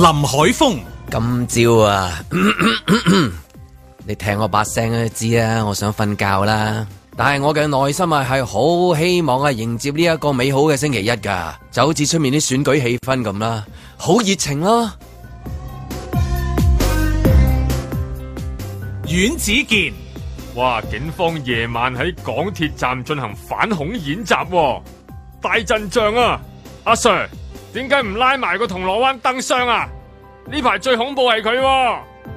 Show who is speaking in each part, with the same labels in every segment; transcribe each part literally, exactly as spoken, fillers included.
Speaker 1: 林海峰，
Speaker 2: 今朝啊，咳咳咳咳你聽我把聲都知啊，我想瞓覺啦。但係我嘅內心啊，係好希望啊，迎接呢一個美好嘅星期一噶，就好似出面啲選舉氣氛咁啦，好熱情咯。
Speaker 1: 阮子健，
Speaker 3: 哇！警方夜晚喺港鐵站進行反恐演習喎，大陣仗啊！阿 Sir， 點解唔拉埋個銅鑼灣燈箱啊？呢排最恐怖係佢喎。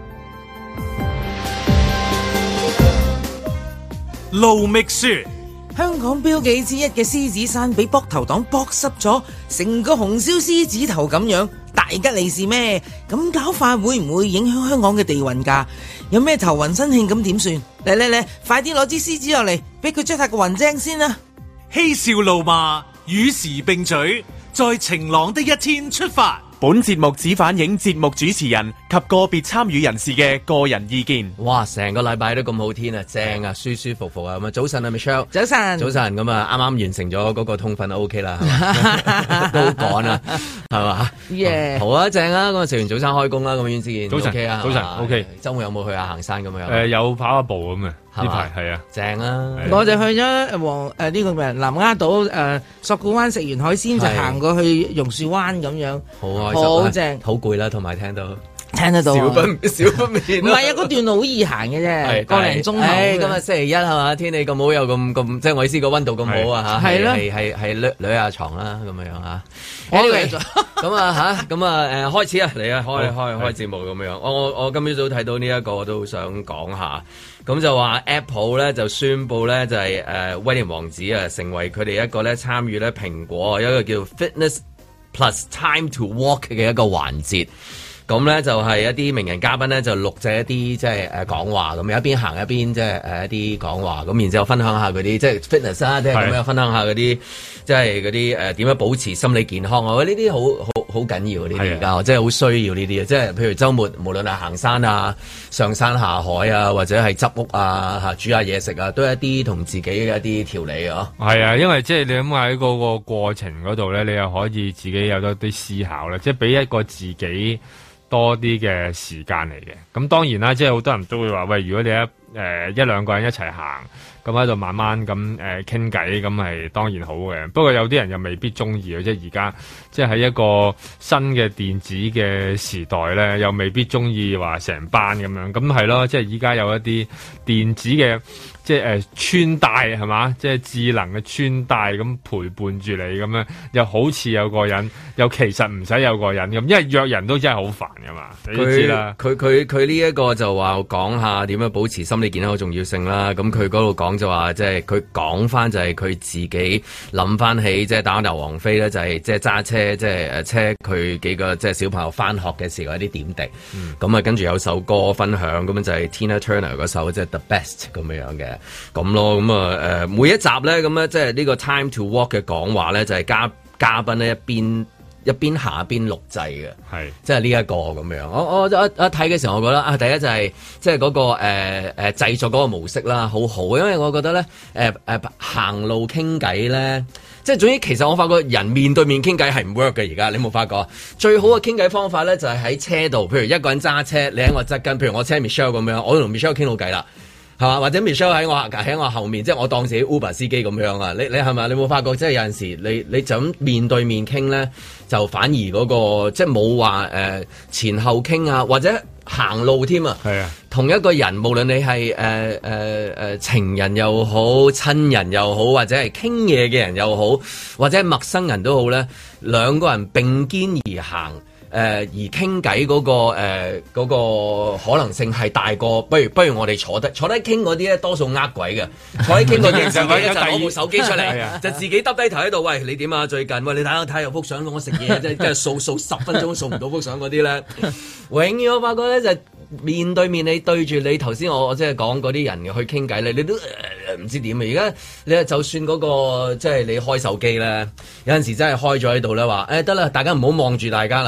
Speaker 1: 盧覓雪，
Speaker 4: 香港標記之一嘅獅子山俾膊頭黨剝濕咗，成個紅燒獅子頭咁樣，大吉利是咩？咁搞法會唔會影響香港嘅地運㗎？有咩頭暈身慶咁點算？嚟嚟嚟，快啲攞支獅子落嚟，俾佢捽下個暈精先啦！
Speaker 1: 嬉笑怒罵，與時並舉，在晴朗的一天出發。
Speaker 5: 本節目只反映節目主持人及個別參與人士嘅個人意見。
Speaker 2: 哇！成個禮拜都咁好天啊，正啊，舒舒服服啊咁啊！早晨啊 Michelle，
Speaker 4: 早晨，
Speaker 2: 早晨咁啊，啱啱完成咗嗰個通訓 OK 啦，都好趕啊，係嘛？耶！好啊，正啊！咁啊，食完早餐開工啦，咁樣先。
Speaker 3: 早晨
Speaker 2: OK 啊，
Speaker 3: 早晨 OK。
Speaker 2: 週末有冇去下行山咁樣？
Speaker 3: 誒，有跑下步咁啊。呢排係啊，
Speaker 2: 正啊！
Speaker 4: 我就去咗黃誒呢個咩南丫島誒索罟灣，食完海鮮就行過去榕樹灣咁樣，
Speaker 2: 好開心，
Speaker 4: 好正，
Speaker 2: 好攰啦，同埋聽到
Speaker 4: 聽得到
Speaker 2: 少不少不免。
Speaker 4: 唔係啊，嗰段路好易行嘅啫，個零鐘頭。
Speaker 2: 誒，今日星期一係嘛？天氣咁好，又咁咁，即係我意思個溫度咁好啊嚇，係係係係掠掠下床啦咁樣樣嚇。Anyway，咁啊嚇，咁啊誒開始啊，嚟啊開開開節目咁樣。我我我今朝早睇到呢一個，我都想講下。咁就話 Apple 咧就宣布咧就係誒威廉王子啊成為佢哋一個咧參與咧蘋果一個叫 Fitness Plus Time to Walk 嘅一個環節。咁咧就係一啲名人嘉賓咧就錄製一啲即係誒講話咁，一邊行一邊即係誒一啲講話咁，然之後分享下嗰啲即係 fitness 啊，即係咁樣分享下嗰啲即係嗰啲誒點樣保持心理健康啊！我覺得呢啲好好好緊要呢啲而家，即係好需要呢啲啊！即係譬如週末無論係行山啊、上山下海啊，或者係執屋啊、嚇煮下嘢食啊，都係一啲同自己嘅一啲調理啊！
Speaker 3: 係啊，因為即係你諗下喺嗰個過程嗰度咧，你又可以自己有多啲思考咧，即係俾一個自己多啲嘅時間嚟嘅。咁當然啦，即係好多人都會話喂，如果你一誒、呃、一兩個人一齊行，咁喺度慢慢咁誒傾偈，咁、呃、係當然好嘅。不過有啲人又未必中意嘅，即係而家即係喺一個新嘅電子嘅時代咧，又未必中意話成班咁樣。咁係咯，即係依家有一啲電子嘅。即係誒、呃、穿戴係嘛，即係智能嘅穿戴咁陪伴住你咁樣，又好似有個人，又其實唔使有個人咁，因為約人都真係好煩噶嘛，你都知啦。
Speaker 2: 佢佢佢呢一個就話講下點樣保持心理健康嘅重要性啦。咁佢嗰度講就話，即係佢講翻就係佢自己諗翻起，即係打頭王妃咧，就係即係揸車，即係誒車佢幾個即係小朋友翻學嘅時候一啲點滴。咁啊、嗯，跟住有首歌分享，咁樣就係 Tina Turner 嗰首即係 The Best 咁樣樣嘅。咁咯，咁啊誒每一集咧，咁咧即係呢個 Time to Walk 嘅講話咧，就係、是、嘉嘉賓咧一邊一邊行一邊錄製嘅，係是即係呢一個咁樣。我我一一睇嘅時候，我覺得啊，第一就係、是、即係嗰、那個誒誒、呃、製作嗰個模式啦，好好，因為我覺得咧誒誒行路傾偈咧，即係總之其實我發覺人面對面傾偈係唔 work 嘅。而家你冇發覺最好嘅傾偈方法咧，就係、是、喺車度，譬如一個人揸車，你喺我側跟，譬如我車 Michelle 咁樣，我同 Michelle 傾到偈啦。係嘛？或者 Michelle 喺我喺我後面，即係我當自己 Uber 司機咁樣啊！你你係咪？你冇發覺即係有陣時你你就咁面對面傾咧，就反而嗰、那個即係冇話誒前後傾啊，或者行路添啊！係啊，同一個人，無論你係誒誒誒情人又好，親人又好，或者係傾嘢嘅人又好，或者係陌生人都好咧，兩個人並肩而行。誒、呃、而傾偈嗰個誒嗰、呃那個可能性係大過，不如不如我哋坐低坐低傾嗰啲咧，多數呃鬼嘅。坐低傾嗰啲自己咧就攞部手機出嚟，就自己耷低頭喺度。喂，你點啊？最近喂，你睇下睇有幅相，我食嘢即係即係掃掃十分鐘掃唔到幅相嗰啲咧。永遠我發覺咧就係、面對面你對住你頭先我我即係講嗰啲人去傾偈咧，你都唔、呃、知點啊！而家你就算嗰、那個即係你開手機咧，有陣時真係開咗喺度咧話誒得啦，大家唔好望住大家啦。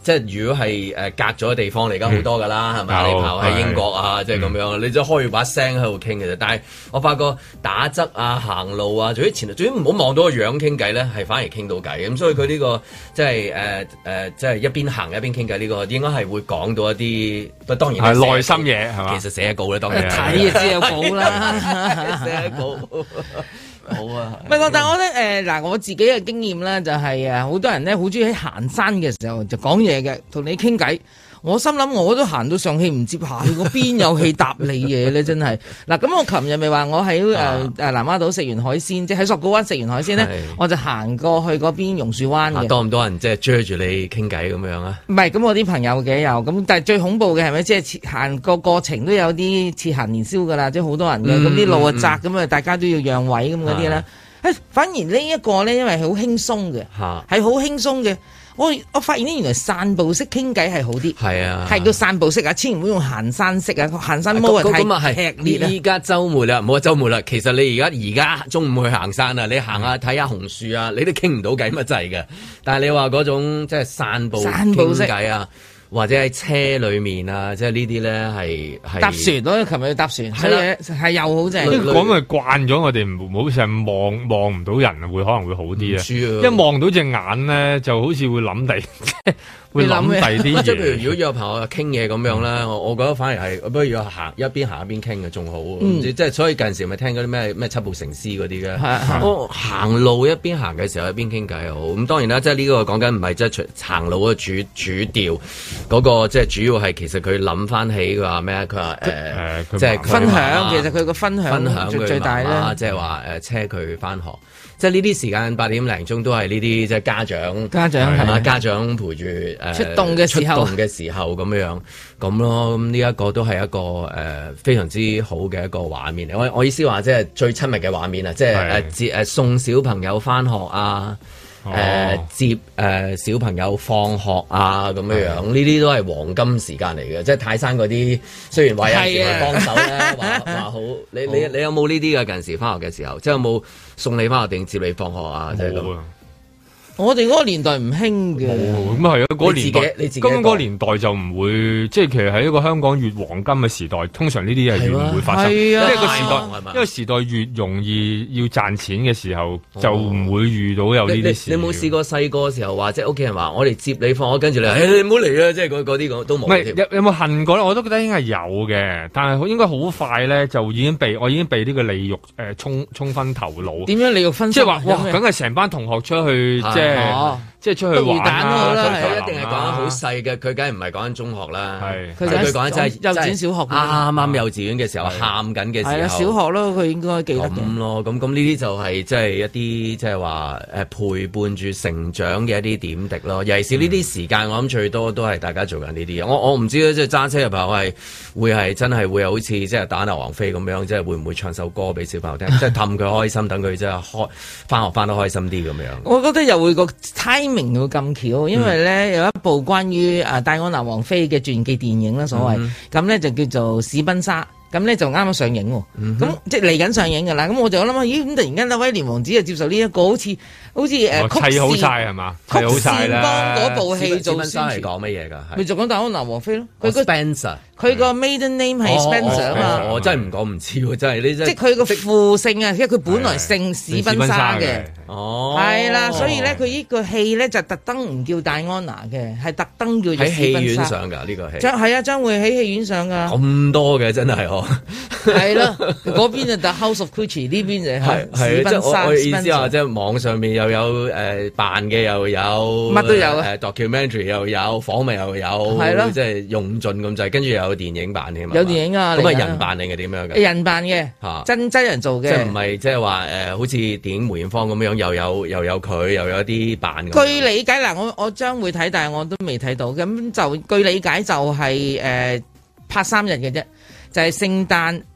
Speaker 2: 即係如果係誒隔咗嘅地方嚟，而家好多㗎啦，係咪？你跑喺英國啊，即係咁樣，你就開住把聲喺度傾嘅啫。但係我發覺打側啊、行路啊，總之前，總之唔好望到個樣傾偈咧，係反而傾到偈。咁所以佢呢個即係誒誒，即係一邊行一邊傾偈呢個，應該係會講到一啲，不當然
Speaker 3: 係內心嘢係嘛？
Speaker 2: 其實寫稿咧，當然
Speaker 4: 睇就知有稿啦，
Speaker 2: 寫稿。好啊，
Speaker 4: 唔係，但係我覺得誒嗱，我自己嘅經驗咧就係誒，好多人咧好中意喺行山嘅時候就講嘢嘅，同你傾偈。我心諗我都行到上氣唔接下氣，我邊有氣答你嘢咧？真係嗱，咁我琴日咪話我喺誒誒南丫島食完海鮮，即係喺索罟灣食完海鮮咧，我就行過去嗰邊榕樹灣嘅。
Speaker 2: 多唔多人即係追住你傾偈咁樣啊？
Speaker 4: 唔係，咁我啲朋友嘅有，咁但係最恐怖嘅係咪？即係行個過程都有啲似行年宵噶啦，即係好多人嘅，咁啲、嗯、路啊窄，咁啊大家都要讓位咁嗰啲咧。誒，反而呢一個咧，因為係好輕鬆嘅，係好輕鬆嘅。我我發現呢，原來散步式傾偈係好啲，係啊，係叫散步式啊，千祈唔好用行山式啊，行山模式太劇烈啦。依家週末啦，唔好話週末啦，其實你而家而家中午去行山啊，你行下睇下紅樹啊，你都傾唔到偈乜滯嘅。但係你話嗰種即係散步傾偈啊。或者喺車裏面啊，即係呢啲咧係係搭船咯，琴日去搭船，係啦，係又好正。
Speaker 3: 講咪慣咗，我哋唔好成日望望唔到人，會可能會好啲啊。一望到隻眼咧，就好似會諗第，會諗第啲嘢。即係譬如如果有朋友傾嘢咁樣咧，我我覺得反而係不如行一邊行一邊傾嘅仲好。即係所以近時咪聽嗰啲咩咩七步成詩嗰啲嘅。我行路一邊行嘅時候一邊傾偈好。咁當然啦，即係呢個講緊唔係即係行路嘅主主調。嗰個即係主要係其實佢諗翻起佢話咩？佢話誒，即係分享。其實佢個分享分享最大咧，即係話誒車佢翻學。即係呢啲時間八點零鐘都係呢啲即係家長家長係嘛？家長陪住誒出動嘅時候，出動嘅時候咁樣咁咯。咁呢一個都係一個誒非常之好嘅一個畫面嚟。我我意思話即係最親密嘅畫面啊！即係誒接誒送小朋友翻學啊！誒、呃、接誒、呃、小朋友放學啊咁樣樣，呢啲都係黃金時間嚟嘅。即係泰山嗰啲，雖然話有時去幫手咧，話話好。你你你有冇呢啲嘅近時翻學嘅時候？即係有冇送你翻學定接你放學啊？即係咁。我哋嗰個年代唔興嘅，咁係啊！嗰個年代，咁嗰個年代就唔會，即係其實喺一個香港越黃金嘅時代，通常呢啲嘢係越唔會發生。因為個時代，因為時代越容易要賺錢嘅時候，就唔會遇到有呢啲事。
Speaker 2: 你冇試過細個嘅時候話，即係屋企人話我哋接你放學，跟住你話，誒你唔好嚟啊！即係嗰嗰啲都冇。
Speaker 3: 唔係有有冇恨過咧？我都覺得應該係有嘅，但係應該好快咧就已經被我已經被呢個利欲誒沖沖昏頭腦。
Speaker 4: 點樣利欲分？
Speaker 3: 即係話哇，梗係成班同學出去即係。哦，即係出去玩啦，
Speaker 2: 佢一定係講緊好細嘅，佢梗係唔係講緊中學啦，係佢
Speaker 4: 佢
Speaker 2: 講緊真係
Speaker 4: 幼稚園小學，
Speaker 2: 啱啱幼稚園嘅時候喊緊嘅時候，係啊，小學咯，佢應該記得咁咯，咁咁呢啲就係即係一啲即係話誒陪伴住成長嘅一啲點滴咯，尤其是呢啲時間，我諗最多都係大家做緊呢啲嘢。我我唔知咧，即係揸車嘅朋友係會係真係會好似即係打劉王菲咁樣，即係會唔會唱首歌俾小朋友聽，即係氹佢開心，等佢即係開翻學翻得開心啲咁樣。我覺得又會個 timing 會咁巧，因為咧有一部關於啊戴安娜王妃嘅傳記電影啦，所謂咁咧就叫做史賓莎。咁咧就啱啱上映喎，咁、嗯、哼即係嚟緊上映㗎啦。咁我就諗下，咦？咁突然間咧威廉王子就接受呢、這、一個好似好似誒曲
Speaker 3: 砌好曬係嘛？砌好曬啦！
Speaker 4: 幫嗰部戲做宣傳
Speaker 2: 係講乜嘢㗎？
Speaker 4: 咪就講戴安娜王妃咯。佢個
Speaker 2: Spencer，
Speaker 4: 佢個 maiden name 係 Spencer 啊嘛。
Speaker 2: 我真係唔講唔知喎，真係呢真。即係佢
Speaker 4: 個父姓啊，因為佢本來姓史賓莎嘅。
Speaker 2: 哦，
Speaker 4: 係啦，所以咧佢呢個戲咧就特登唔叫戴安娜嘅，係特登叫做史賓莎。喺戲院上㗎呢個戲。將係啊，將會喺戲院上㗎。咁多嘅真係呵。係咯，嗰邊就 The House of Gucci， 呢邊就係史賓莎。我意思話，即係網上面又有誒扮嘅，又有乜都有誒 documentary 又有訪問又有，係咯，即係用盡咁滯。跟住又有電影版添嘛？有電影啊！咁係人扮定係點樣嘅？人扮嘅嚇，真真人做嘅。即係唔係即係話誒，好似電影梅艷芳咁樣，又有又有佢，又有啲扮。據理解嗱，我我將會睇，但係我都未睇到。咁就據理解就係誒拍三日嘅啫。就係聖誕、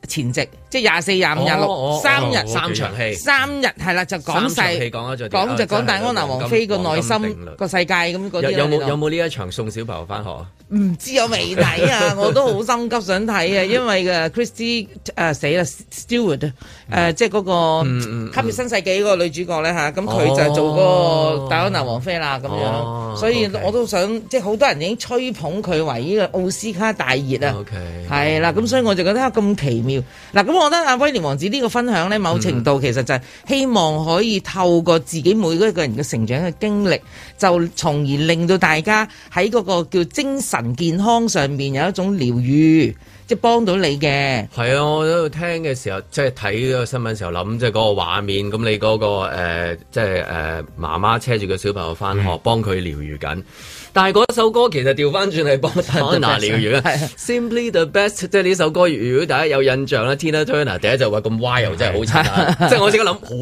Speaker 4: 前夕，即係廿四、廿五、廿六三日
Speaker 2: 三場戲，
Speaker 4: 三日係啦，就講晒講就講戴安娜王妃個內心個世界咁嗰啲。
Speaker 2: 有冇有冇呢一場送小朋友翻學啊？
Speaker 4: 唔知我未睇啊，我都好心急想睇啊，因為嘅 Christy 誒死啦 Stewart 誒即係嗰個吸血新世紀嗰個女主角咧嚇，咁佢就做嗰個戴安娜王妃啦咁樣，所以我都想即係好多人已經吹捧佢為呢個奧斯卡大熱啊，係啦，咁所以我就覺得咁奇妙嗱，咁我覺得阿威廉王子呢個分享咧，某程度其實就係希望可以透過自己每一個人嘅成長嘅經歷，就從而令到大家喺嗰個叫精神健康上面有一種療愈，即係幫到你嘅。係
Speaker 2: 啊，我喺度聽嘅時候，即係睇嗰個新聞時候諗，即係嗰個畫面。咁你嗰、嗰個誒、呃，即係誒媽媽車住個小朋友翻學，幫佢療愈緊。但係嗰首歌其實調翻轉係幫 Tina 療愈啊 ，Simply the best， 即係呢首歌。如果大家有印象啦 Tina Turner 第一就話咁 wild 真係好慘啊！即係我即刻諗好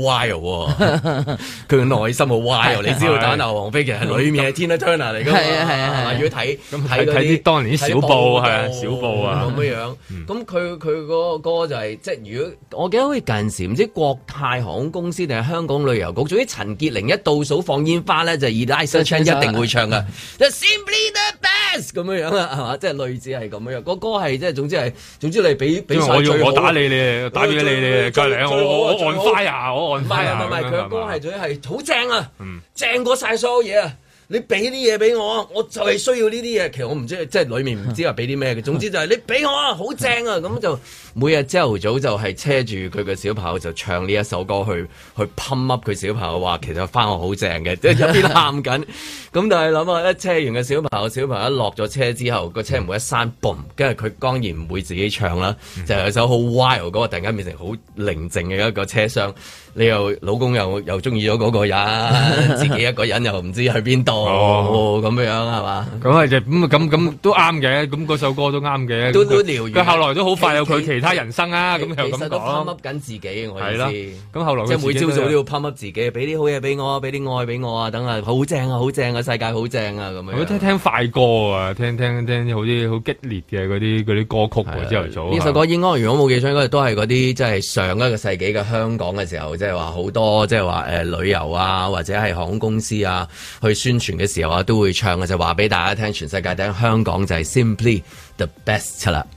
Speaker 2: wild， 佢嘅內心好 wild。你知道戴安娜王妃其實裏面係 Tina Turner 嚟㗎嘛？係啊係啊係。如果睇睇
Speaker 3: 睇啲當年啲小報係啊小報啊
Speaker 2: 咁樣樣，咁佢佢嗰個歌就係即係如果我記得好似近時唔知國泰航空公司定係香港旅遊局，總之陳潔靈一倒數放煙花咧，就 Eliza Chan 一定會唱㗎。Simply the best 咁樣樣啦，係嘛？即係類似係咁樣樣。個歌係即係總之係總之你俾俾
Speaker 3: 我要我打你你打俾你你隔離我我我按 fire 我按 fire
Speaker 2: 唔係佢個歌係總之係好正啊，正過晒所有嘢啊！你俾啲嘢俾我，我就係需要呢啲嘢。其實我唔知即係裡面唔知話俾啲咩嘅。總之就係你俾我啊，好正啊！咁就每日朝頭早就係車住佢嘅小朋友就唱呢一首歌去去 pump up 佢小朋友話其實翻學好正嘅，即係一邊喊緊。咁但係諗下一車完嘅小朋友，小朋友一落咗車之後，個車門一閂，boom，跟住佢當然唔會自己唱啦，就係有首好 wild 嗰個突然間變成好寧靜嘅一個車廂。你又老公又又中意咗嗰個人，自己一個人又唔知去邊度咁樣係嘛？
Speaker 3: 咁係就咁咁咁都啱嘅，咁嗰首歌都啱嘅，
Speaker 2: 都都療愈。
Speaker 3: 佢後來都好快有佢其他人生啊，咁又咁講。
Speaker 2: 其實都 pump up 緊自己，我意思。
Speaker 3: 咁後來
Speaker 2: 即係每朝早都要 pump up 自己，俾啲好嘢俾我，俾啲愛俾我啊！等啊，好正啊，好正啊，世界好正啊！咁樣。
Speaker 3: 我聽聽快歌啊，聽聽聽好啲好激烈嘅嗰啲嗰啲歌曲喎，朝頭早。
Speaker 2: 呢首歌應該如果冇記錯，應該都係嗰啲即係上一個世紀嘅香港嘅時候，即係話好多即係話誒旅遊啊，或者係航空公司啊，去宣傳嘅時候啊，都會唱嘅，就話俾大家聽，全世界聽香港就係 Simply the best 啦。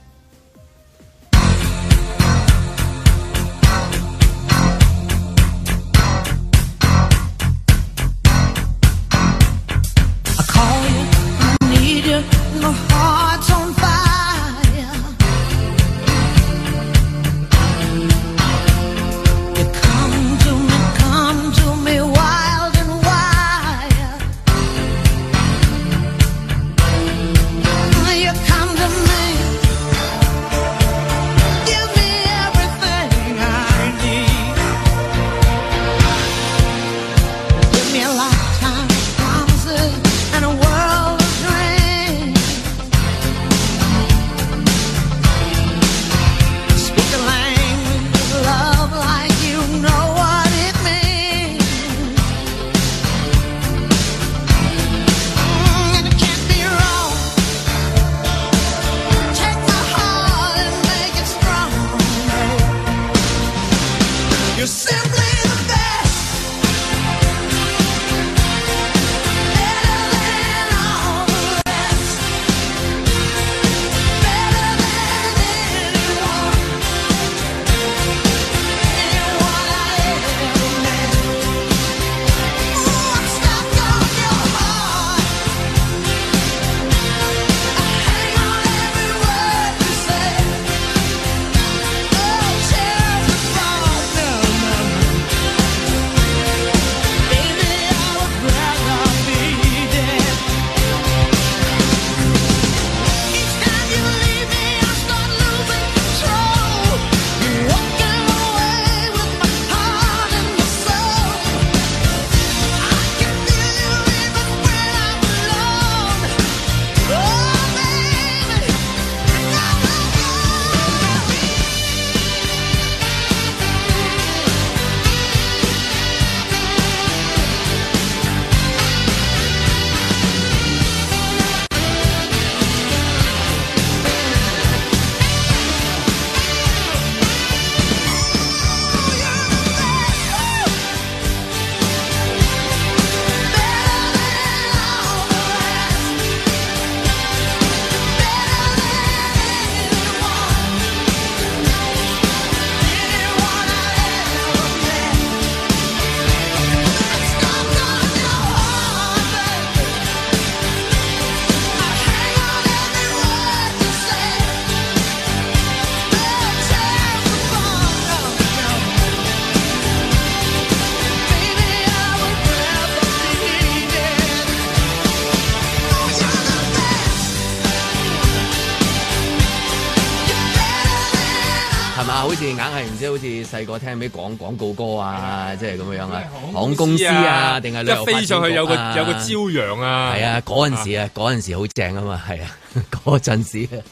Speaker 2: 係嘛？好似硬係唔知好似細個聽咩廣廣告歌啊，即係咁樣啊，航空公司啊，定係旅遊發展局啊，
Speaker 3: 一飛上去有個有個朝陽啊，
Speaker 2: 係啊，嗰陣時啊，嗰陣時好正啊嘛，係啊，嗰陣時啊。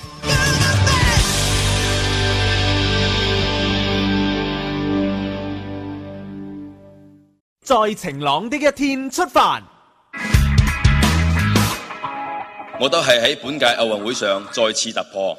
Speaker 5: 在晴朗的一天出發。
Speaker 6: 我都係喺本屆奧運會上再次突破，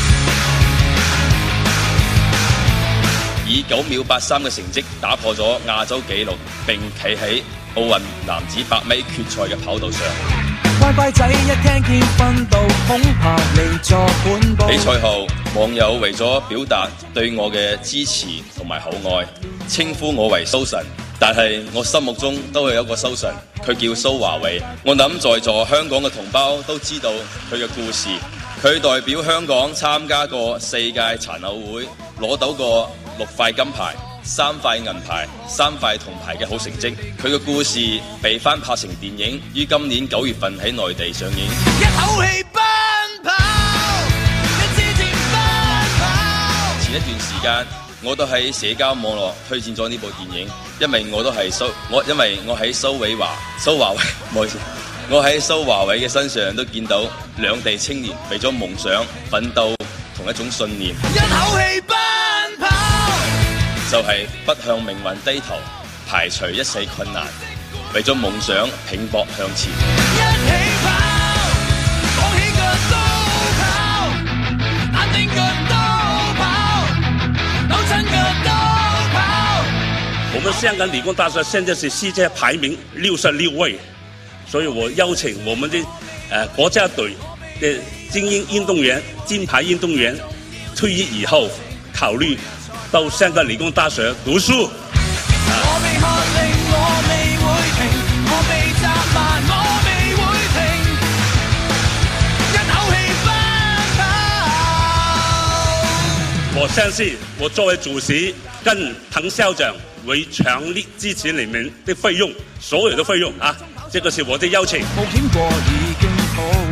Speaker 6: 以九秒八三嘅成績打破咗亞洲紀錄，並企喺奧運男子百米決賽嘅跑道上。乖乖仔一聽見訓導，恐怕離座本部。比賽後，網友為咗表達對我嘅支持同埋厚愛，稱呼我為蘇神。但係我心目中都係有一個蘇神，佢叫蘇華偉。我諗在座香港嘅同胞都知道佢嘅故事。佢代表香港參加過四屆殘奧會，攞到過六塊金牌、三塊銀牌、三塊銅牌嘅好成績。佢嘅故事被翻拍成電影，於今年九月份喺內地上映。一口氣奔跑，一支箭奔跑。前一段時間，我都喺社交網絡推薦咗呢部電影，因為我都係蘇我，因為我喺蘇偉華蘇華偉，唔好意思，我喺蘇華偉嘅身上都見到兩地青年為咗夢想奮鬥同一種信念。一口氣奔跑，就係不向命運低頭，排除一切困難，為咗夢想拼搏向前。一起跑，放起腳都跑，難定腳都跑，扭親腳都跑。我們香港理工大學現在是世界排名六十六位，所以我邀請我們的呃國家隊的精英運動員、金牌運動員退役以後，考慮到香港理工大學讀書。我未喝令，我未會停，我未責罵，我未會停，一口氣奔跑。我相信我作為主席跟滕校長會強力支持你們的費用，所有的費用啊，這個是我的邀請。冒險過已經好。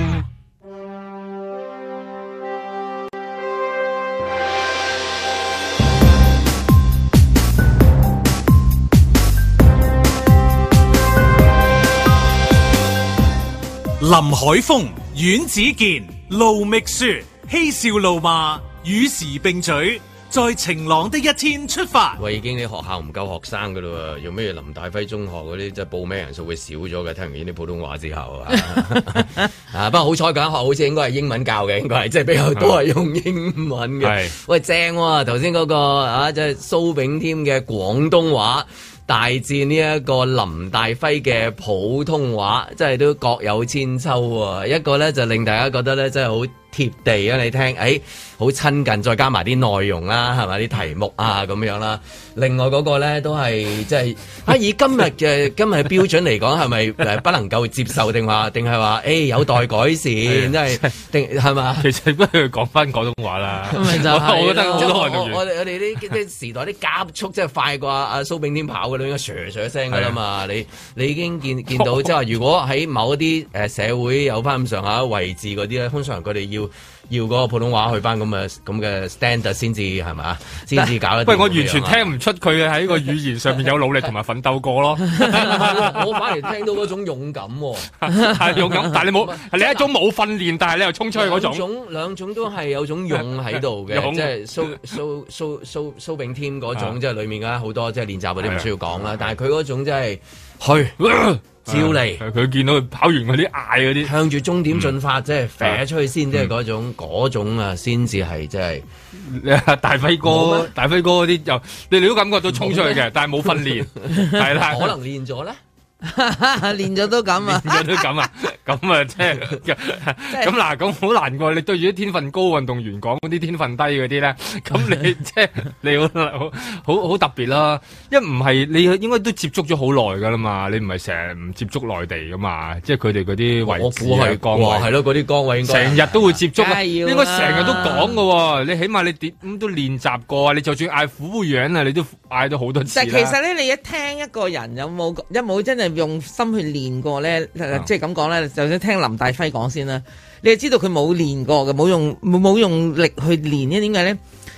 Speaker 1: 林海峰、阮子健、盧覓雪，嬉笑怒罵，與時並舉，在晴朗的一天出發。
Speaker 2: 喂，已經啲學校唔夠學生噶啦，用咩林大輝中學嗰啲即係報名人數會少咗嘅？聽完呢啲普通話之後啊，啊不過好彩嗰間學校好似應該係英文教嘅，應該係即係比較多係用英文嘅。係喂正喎，頭先嗰個啊即係蘇炳添嘅廣東話大戰呢一個林大輝嘅普通話，真係都各有千秋喎。一個咧就令大家覺得咧真係好貼地啊！你聽，誒好親近，再加埋啲內容啦，係咪啲題目啊咁樣啦。另外嗰個咧都係即係啊，以今日嘅今日嘅標準嚟講，係咪誒不能夠接受定話定係話誒有待改善，即係定係嘛？其實不如講翻廣東話啦。咁咪就係，我覺得好多運動員，我哋我哋啲啲時代啲加速即係快過阿蘇炳添跑嘅啦，應該唰唰聲㗎啦嘛。你你已經見見到即係話，如果喺某一啲誒社會有翻咁上下位置嗰啲咧，通常佢哋要。要嗰個普通話去翻咁嘅咁嘅 standard 先至係嘛，先至搞得。喂，
Speaker 3: 我完全聽唔出佢喺個語言上面有努力同埋奮鬥過咯。
Speaker 2: 我反而聽到嗰種勇敢喎，
Speaker 3: 係勇敢，但係你冇，你一種冇訓練，但係你又衝出去嗰種。
Speaker 2: 兩種兩種都係有種勇喺度嘅，即係蘇蘇蘇蘇蘇炳添嗰種，即係裡面嘅好多即係練習嗰啲唔需要講啦。但係佢嗰種真係去。照嚟，
Speaker 3: 佢見到佢跑完嗰啲嗌嗰啲，
Speaker 2: 向住終點進發，即係飛出去先，即係嗰種嗰種啊，先至係即係
Speaker 3: 大輝哥，大輝哥嗰啲又你哋都感覺到衝出去嘅，但係冇訓練，係啦，
Speaker 2: 可能練咗咧。
Speaker 4: 練咗都咁啊，
Speaker 3: 練咗都咁啊，咁啊即係咁嗱，咁好難過。你對住啲天分高運動員講嗰啲天分低嗰啲咧，咁你即係你好好好好特別啦。因為唔係你應該都接觸咗好耐噶啦嘛，你唔係成日唔接觸內地噶嘛，即係佢哋嗰啲位置係崗位，係咯，嗰啲崗位應該成日都會接觸啊，應該成日都講噶。你起碼你點咁都練習過啊，你就算嗌服務員啊，你都嗌咗好多次啦。但
Speaker 4: 其實咧，你一聽一個人有冇一冇真係用心去練過咧，即係咁講咧，就算聽林大輝講先啦，你就知道佢冇練過嘅，冇用冇用力去練咧，點解咧？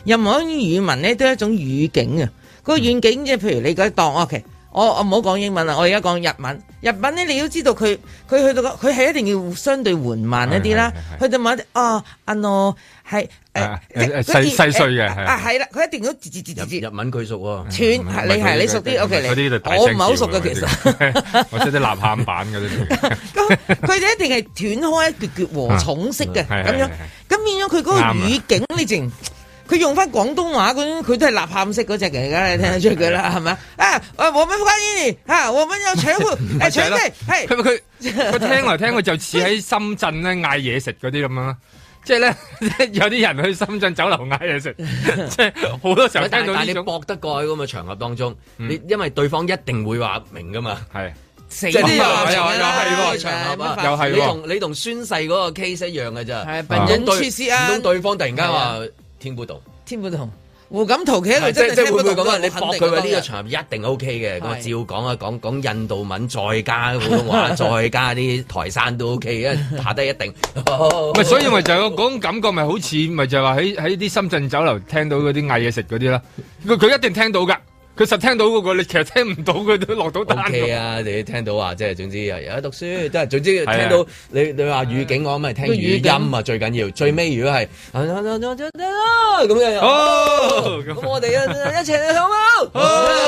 Speaker 4: 任何語文咧都係一種語境啊。嗰個語境即係譬如你講當 OK。我我唔好講英文啦，我而家講日文。日文咧，你都知道佢佢去到佢係一定要相對緩慢一啲啦。去到某啲哦，啊喏係誒
Speaker 3: 細細碎嘅
Speaker 4: 啊係啦，佢一定要字字字字字。
Speaker 2: 日文佢熟喎，
Speaker 4: 串你係你熟啲 OK 嚟。我唔係好熟嘅其實，
Speaker 3: 我識啲吶喊版嗰啲。
Speaker 4: 咁佢哋一定係斷開一橛橛和重式嘅咁樣，咁變咗佢嗰個語境你淨。佢用翻廣東話嗰種，佢都係吶喊式嗰隻嘅，而家你聽得出佢啦，係咪啊？啊，我們歡迎你嚇，我們有搶貨，誒搶咩？係佢佢
Speaker 3: 佢聽嚟聽去就似喺深圳咧嗌嘢食嗰啲咁樣，即係咧有啲人去深圳酒樓嗌嘢食，即係好多時候聽到呢種。但係你搏得過喺咁嘅場合當中，你因為對方一定會話明噶嘛，係。
Speaker 4: 即
Speaker 2: 係啲
Speaker 4: 又
Speaker 2: 又
Speaker 3: 又係
Speaker 2: 場合啊，
Speaker 3: 又係
Speaker 2: 你同你同宣誓嗰個 case 一樣嘅啫，
Speaker 4: 係笨人出事啊！
Speaker 2: 唔通對方突然間話。聽不懂，
Speaker 4: 聽不懂。胡錦濤企喺度真係
Speaker 2: 即係會唔會咁啊？
Speaker 4: 啊
Speaker 2: 你駁佢話呢個場合一定 O K 嘅，咁啊照講啊，講講印度文，再加普通話，再加啲台山都 O K 嘅，下低一定。
Speaker 3: 咪所以咪就有嗰種感覺，咪好似咪就係話喺喺啲深圳酒樓聽到嗰啲嗌嘢食嗰啲啦，佢佢一定聽到㗎。佢實聽到嗰個，你其實聽唔到，佢都落到單。O K 啊，你聽到話即係總之有有得讀書，都係總之聽到你你話語境，我咪聽語音啊，最緊要。最尾如果係咁樣，哦，咁我哋一齊去好冇？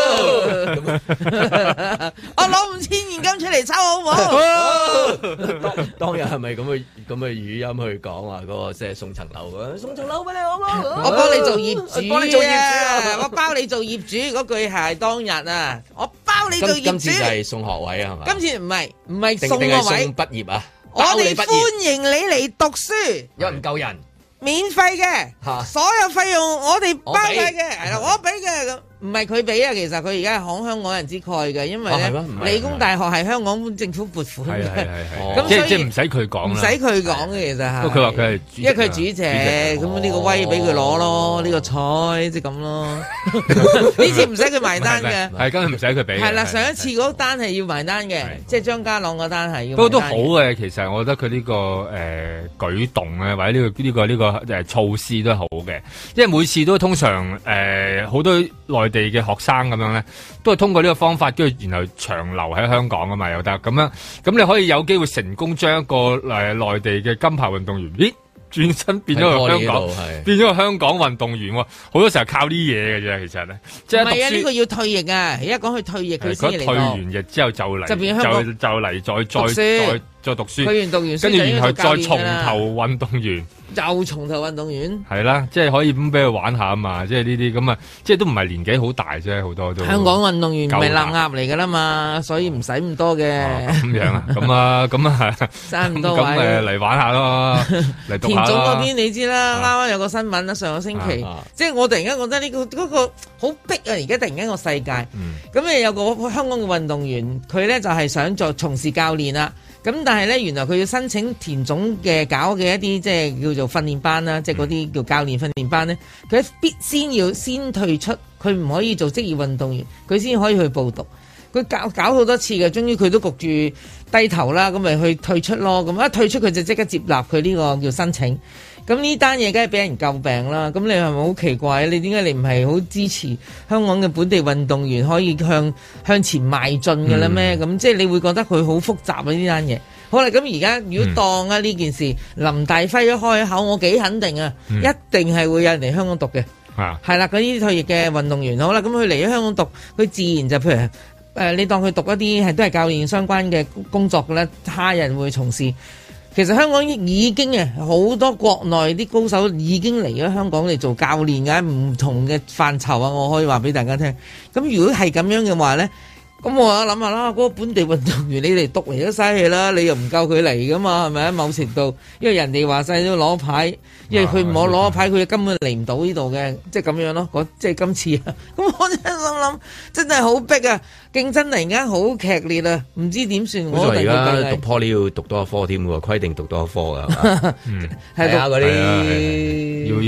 Speaker 4: 我攞五千現金出嚟抽好冇？
Speaker 2: 當當日係咪咁嘅咁嘅語音去講話嗰個即係送層樓啊？送層樓俾你好冇？
Speaker 4: 我幫你做業主，
Speaker 2: 幫你做業主
Speaker 4: 啊！我包你做業主嗰句。係當日啊！我包你做業主。
Speaker 2: 今次就係送學位啊，係嘛？
Speaker 4: 今次唔係唔係送學位，
Speaker 2: 送畢業啊！
Speaker 4: 我哋歡迎你嚟讀書，
Speaker 2: 有唔夠人，
Speaker 4: 免費嘅，所有費用我哋包晒嘅，係啦，我俾嘅咁。唔係佢俾啊，其實佢而家係慷香港人之慨嘅，因為咧理工大學係香港政府撥款嘅，咁
Speaker 3: 即係即係唔使佢講，
Speaker 4: 唔使佢講嘅其實係。
Speaker 3: 不過佢話佢係，
Speaker 4: 因為佢係主席，咁呢個威俾佢攞咯，呢個彩即係咁咯。呢次唔使佢埋單嘅，
Speaker 3: 係今日唔使佢俾。
Speaker 4: 係啦，上一次嗰單係要埋單嘅，即係張家朗嗰單係要。
Speaker 3: 不過都好嘅，其實我覺得佢呢個誒舉動咧，或者呢個呢個呢個誒措施都好嘅，因為每次都通常誒好多內地嘅學生咁樣咧，都係通過呢個方法，跟住然後長留喺香港啊嘛，又得咁樣，咁你可以有機會成功將一個誒內地嘅金牌運動員，咦，轉身變咗個香港，變咗個香港運動員喎，好多時候靠呢嘢嘅啫，其實咧，即係唔係啊？
Speaker 4: 呢個要退役啊！而家講佢退役，佢先嚟。
Speaker 3: 退完役之後就嚟，就就嚟再再再再讀書，
Speaker 4: 退完讀完書，
Speaker 3: 跟住然後再從頭運動員。
Speaker 4: 又從頭運動員
Speaker 3: 係啦，即係可以咁俾佢玩下啊嘛，即係呢啲咁啊，即係都唔係年紀好大啫，好多都
Speaker 4: 香港運動員唔係冷鴨嚟噶啦嘛，所以唔使咁多嘅。
Speaker 3: 咁樣啊，咁啊，咁啊，
Speaker 4: 爭咁多位，
Speaker 3: 咁誒嚟玩下咯，嚟讀下咯。
Speaker 4: 田總嗰邊你知啦，啱啱有個新聞啦，上個星期，即係我突然間覺得呢個嗰個好逼啊！而家突然間個世界，咁誒有個香港嘅運動員，佢咧就係想做從事教練啦。咁但係咧，原來佢要申請田總嘅搞嘅一啲即係叫做訓練班啦，即係嗰啲叫教練訓練班咧，佢必先要先退出，佢唔可以做職業運動員，佢先可以去報讀。佢搞搞好多次嘅，終於佢都焗住低頭啦，咁咪去退出咯。咁一退出佢就即刻接納佢呢個叫申請。咁呢單嘢梗係俾人詬病啦。咁你係咪好奇怪？你點解你唔係好支持香港嘅本地運動員可以向向前邁進嘅咧咩？咁、嗯、即係你會覺得佢好複雜啊呢單嘢。好啦，咁而家如果當啊呢件事，嗯、林大輝一開口，我幾肯定啊，嗯、一定係會有人嚟香港讀嘅。啊，係啦，嗰啲退役嘅運動員，好啦，咁佢嚟咗香港讀，佢自然就譬如誒、呃，你當佢讀一啲係都係教練相關嘅工作嘅咧，他人會從事。其實香港已經啊，好多國內啲高手已經嚟咗香港嚟做教練嘅，唔同嘅範疇啊，我可以話俾大家聽。咁如果係咁樣嘅話咧，咁我諗下啦，嗰、那個本地運動員你嚟讀嚟都嘥氣啦，你又唔夠佢嚟噶嘛，係咪啊？某程度，因為人哋話晒都攞牌，因為佢唔攞攞牌，佢根本嚟唔到呢度嘅，即係咁樣咯。即係今次啊，咁我真係心諗，真係好逼啊！競爭突然間好劇烈啊，唔知點算。我
Speaker 2: 而家讀 Poly 要讀多一科添喎，規定讀多一科噶，係嘛？係啊，嗰啲要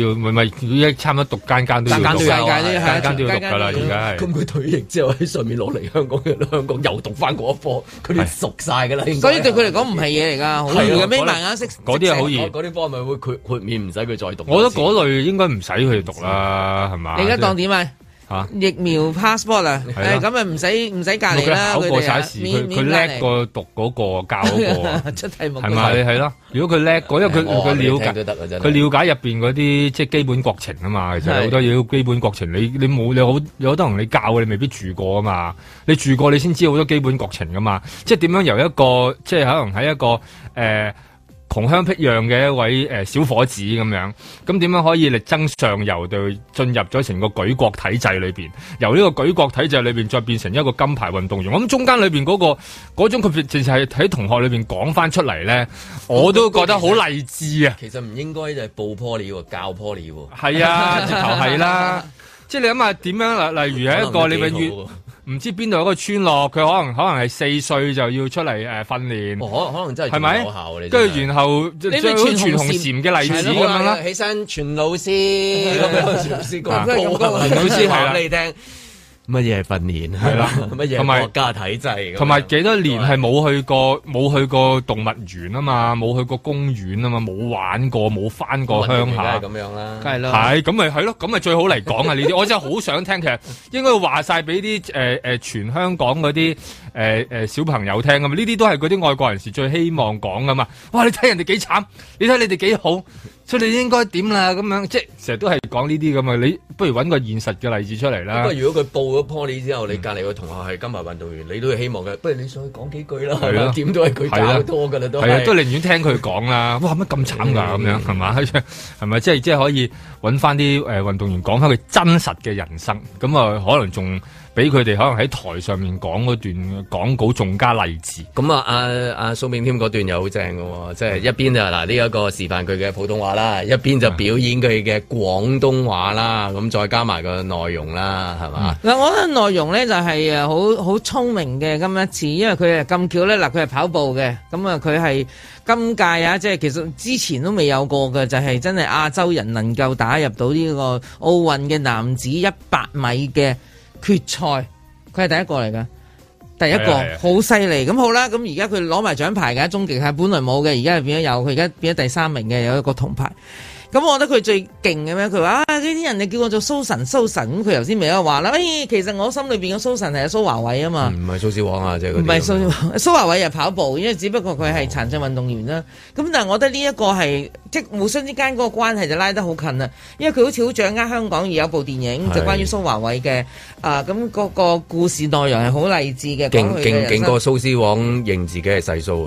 Speaker 3: 要，咪咪一差唔多讀間間都要讀，
Speaker 4: 間
Speaker 3: 間間都要讀㗎啦，而家係。
Speaker 2: 咁佢退役之後喺上面攞嚟香港嘅香港又讀翻嗰一科，佢哋熟晒㗎啦。
Speaker 4: 所以對佢嚟講唔係嘢嚟㗎，好易嘅，眯埋眼識。
Speaker 3: 嗰啲係好易，
Speaker 2: 嗰啲科咪會豁豁免唔使佢再讀。
Speaker 3: 我覺得嗰類應該唔使佢讀啦，係嘛？
Speaker 4: 你而家當點啊？
Speaker 3: 嚇
Speaker 4: 疫苗 passport 啊，誒咁啊唔使唔使隔離啦，
Speaker 3: 佢考過晒試，佢佢叻過讀嗰個教嗰個，
Speaker 4: 出題目
Speaker 3: 係咪係咯？如果佢叻過，因為佢佢了解佢了解入邊嗰啲即係基本國情啊嘛，其實好多嘢基本國情，你你冇你好有好多人你教你未必住過啊嘛，你住過你先知好多基本國情噶嘛，即係點樣由一個即係可能喺一個誒。呃窮鄉僻壤嘅一位誒、呃、小伙子咁樣，咁點樣可以力爭上游，對進入咗成個舉國體制裏邊？由呢個舉國體制裏邊再變成一個金牌運動員，我諗中間裏邊嗰個嗰種佢淨係喺同學裏邊講翻出嚟咧，我都覺得好勵志啊！
Speaker 2: 其實唔應該就係報 poly 喎，教 poly 喎。
Speaker 3: 係啊，直頭係啦，即係你諗下點樣例例如係一個你永遠。唔知邊度有個村落，佢可能可能係四歲就要出嚟誒訓練，
Speaker 2: 可可能真係係
Speaker 3: 咪有效？跟住然後最好全紅嬋嘅例子咁樣啦，
Speaker 2: 起身全老師咁樣，全老師講
Speaker 3: 全老師
Speaker 2: 話俾你聽。乜嘢係訓練係啦，乜嘢係國家體制，
Speaker 3: 同埋幾多年係冇去過冇去過動物園啊嘛，冇去過公園啊嘛，冇玩過冇翻過鄉下，
Speaker 2: 咁樣啦，
Speaker 4: 梗係啦，
Speaker 3: 係咁咪係咯，咁咪最好嚟講啊呢啲，我真係好想聽，其實應該話晒俾啲誒誒全香港嗰啲誒誒小朋友聽噶嘛，呢啲都係嗰啲外國人士最希望講噶嘛，哇你睇人哋幾慘，你睇你哋幾好。所以你應該點啦？咁樣即係成日都係講呢啲咁啊！你不如揾個現實嘅例子出嚟啦。
Speaker 2: 不過如果佢報咗 poly 之後，你隔離個同學係金牌運動員，你都係希望嘅。不如你上去講幾句啦，係嘛？點都係佢教多㗎啦，都係。
Speaker 3: 都寧願聽佢講啦。哇！乜咁慘㗎？咁樣係嘛？係咪即係即係可以揾翻啲誒運動員講翻佢真實嘅人生？咁啊，可能仲比佢哋可能喺台上面講嗰段講稿仲加勵志。
Speaker 2: 咁啊，阿阿蘇炳添嗰段又好正㗎喎，即係一邊就嗱呢一個示範佢嘅普通話啦，一邊就表演佢嘅廣東話啦，咁再加埋個內容啦，係嘛？嗱、
Speaker 4: 嗯，我覺得內容咧就係誒好好聰明嘅今一次，因為佢係咁巧咧，嗱佢係跑步嘅，咁啊佢係今屆啊，即係其實之前都未有過嘅，就係、是、真係亞洲人能夠打入到呢個奧運嘅男子一百米嘅決賽，佢係第一個嚟㗎。第一個好犀利，咁好啦，咁而家佢攞埋獎牌㗎，終極係本來冇嘅，而家係變咗有，佢而家變咗第三名嘅，有一個銅牌。咁我覺得佢最勁嘅咩？佢話啊，呢啲人你叫我做蘇神，蘇神咁，佢頭先咪有話啦。哎，其實我心裏邊嘅蘇神係阿蘇華偉啊嘛，
Speaker 2: 唔係蘇小黃啊，即係
Speaker 4: 唔係蘇蘇華偉又跑步，因為只不過佢係殘障運動員啦。咁、哦、但係我覺得呢一個係即係互相之間嗰個關係就拉得好近啦，因為佢好似好掌握香港，而有部電影就關於蘇華偉嘅啊，咁、那、嗰個故事內容係好勵志嘅，
Speaker 2: 勁勁勁過蘇絲黃認自己係細蘇。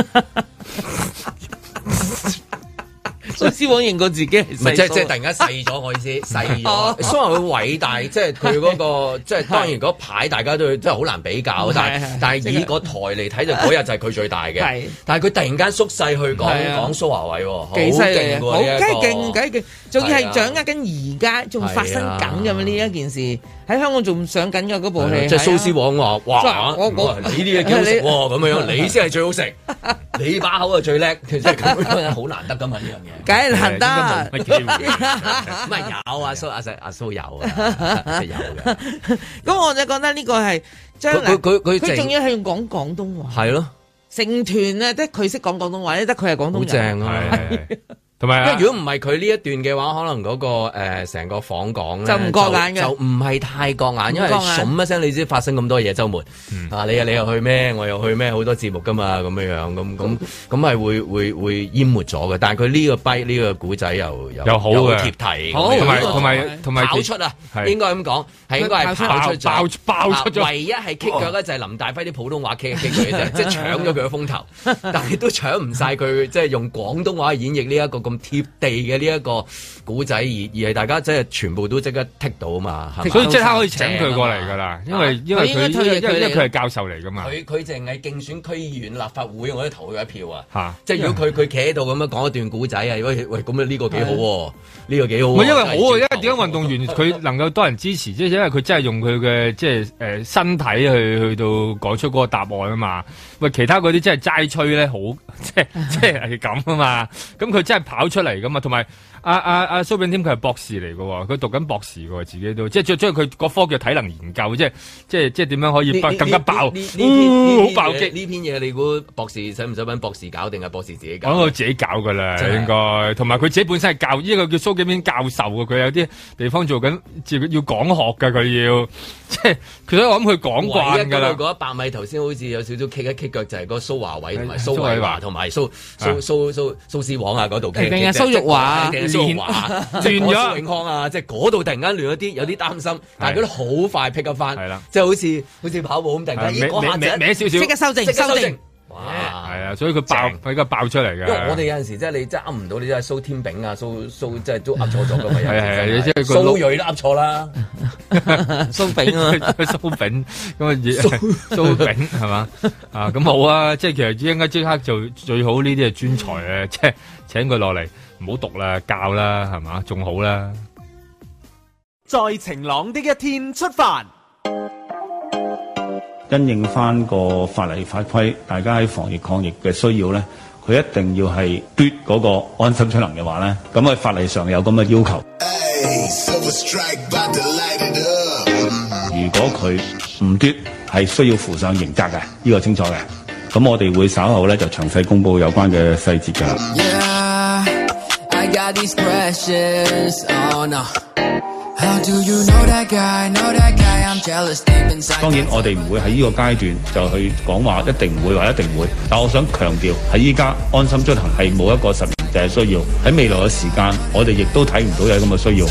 Speaker 4: 蘇絲黃認過自己係細蘇，唔係
Speaker 2: 即係即係突然間細咗，我意思細咗。蘇華偉偉大，即係佢嗰個，即係當然嗰牌大家都真係好難比較，但係但係以個台嚟睇就嗰日就係佢最大嘅。但係佢突然間縮細去講講蘇華偉，好勁喎！好梗係勁，梗係勁，仲要係掌握緊而家仲發生緊咁呢一件事，喺香港仲上緊嘅嗰部戲。即係蘇絲黃話：哇！我我你啲嘢幾好食喎，咁樣你先係最好食，你把口係最叻，其實咁樣好難得㗎嘛呢樣嘢。
Speaker 4: 梗係難得，
Speaker 2: 唔係有啊蘇阿石阿蘇有啊，有嘅。
Speaker 4: 咁我就覺得呢個係將來佢佢佢仲要係用講廣東話，係咯，成團啊，得佢識講廣東話，得佢係廣東人，好正
Speaker 2: 啊！同埋，因為如果唔係佢呢一段嘅話，可能嗰個誒成個訪港
Speaker 4: 就唔過眼嘅，
Speaker 2: 就唔係太過眼，因為噏一聲你知發生咁多嘢週末啊，你啊你又去咩？我又去咩？好多節目噶嘛，咁樣樣咁咁咁係會會會淹沒咗嘅。但係佢呢個跛呢個古仔又
Speaker 3: 又好嘅
Speaker 2: 貼題，
Speaker 3: 同埋同埋同埋
Speaker 2: 跑出啊，應該咁講係應該係跑出
Speaker 3: 爆爆出咗。
Speaker 2: 唯一係棘腳咧就係林大輝啲普通話棘棘佢啫，即係搶咗佢嘅風頭，但係都搶唔晒佢，即係用廣東話演繹呢一個咁貼地嘅呢一個古仔，而而係大家即係全部都即刻剔到啊嘛，
Speaker 3: 所以即刻可以請佢過嚟噶啦，因為因為佢因為因為佢係教授嚟噶嘛，
Speaker 2: 佢佢淨係競選區議員立法會，我都投佢一票啊，即係如果佢佢企喺度咁樣講一段古仔啊，喂喂咁呢個幾好喎， 呢個幾好。
Speaker 3: 唔係因為好啊，因為點解運動員佢能夠多人支持，即係因為佢真係用佢嘅即係誒身體去去到講出嗰個答案啊嘛。喂，其他嗰啲真係齋吹咧，好即係即係係咁啊嘛。咁佢真係跑出嚟噶嘛，同埋。阿阿阿蘇炳添佢係博士嚟嘅，佢讀緊博士嘅，自己都即係將將佢嗰科叫體能研究，即係即係即係點樣可以爆更加爆？呢篇好爆擊
Speaker 2: 呢篇嘢，你估博士使唔使揾博士搞定係博士自己搞？
Speaker 3: 我諗佢自己搞噶啦，應該。同埋佢自己本身係教呢個叫蘇炳添教授嘅，佢有啲地方做緊，自己要講學嘅，佢要即係佢都我諗佢講慣㗎啦。
Speaker 2: 嗰一百米頭先好似有少少 kick 一 kick 腳，就係嗰個蘇華偉同埋蘇偉華同埋蘇蘇蘇蘇蘇絲黃啊嗰度 kick
Speaker 4: 定係蘇玉華。
Speaker 2: 亂亂咗蘇永康啊！即係嗰度突然間亂咗啲，有啲擔心，但係佢都好快 pick up 翻，即係好似好似跑步咁，突然間咦嗰下
Speaker 3: 歪少少，
Speaker 4: 即刻修正，修正。
Speaker 2: 哇！
Speaker 3: 係啊，所以佢爆，佢而家爆出嚟嘅。
Speaker 2: 因為我哋有陣時即係你真係噏唔到，你真係蘇天炳啊，蘇蘇即係都噏錯咗㗎嘛。
Speaker 3: 係係，即係
Speaker 2: 蘇瑞都噏錯啦。
Speaker 4: 蘇炳啊，
Speaker 3: 蘇炳咁啊，蘇炳係嘛啊？咁好啊！即係其實應該即刻就最好呢啲係專才啊！即係請佢落嚟。唔好讀啦，教啦，係嘛，仲好啦。
Speaker 5: 在晴朗的一天出發，
Speaker 7: 因應翻個法例法規，大家喺防疫抗疫嘅需要咧，佢一定要係嘟嗰個安心出行嘅話咧，咁喺法例上有咁嘅要求。如果佢唔嘟，係需要負上刑責嘅，呢、呢個清楚嘅。咁我哋會稍後咧就詳細公佈有關嘅細節㗎。Yeah. Got these questions, oh no. How do you know that guy? Know that guy? I'm jealous deep inside. 當然，我哋唔會喺呢個階段就去講話一定唔會或一定會，但我想強調喺依家安心出行係冇一個實名制嘅需要。喺未來嘅時間，我哋亦都睇唔到有咁嘅需要。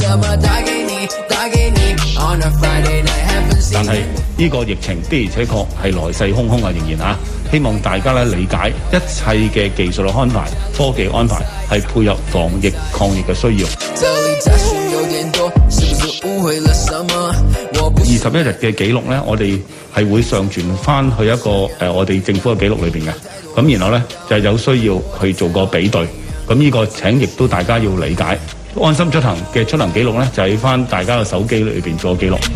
Speaker 7: 但係呢個疫情的而且確係來勢洶洶啊，仍然啊！希望大家咧理解一切嘅技術嘅安排、科技安排係配合防疫抗疫嘅需要。二十一日嘅記錄咧，我哋係會上傳翻去一個誒、呃、我哋政府嘅記錄裏邊嘅。咁然後咧就係、有需要去做個比對。咁呢個請亦都大家要理解。安心出行嘅出行記錄咧，就喺翻大家嘅手機裏邊做記錄。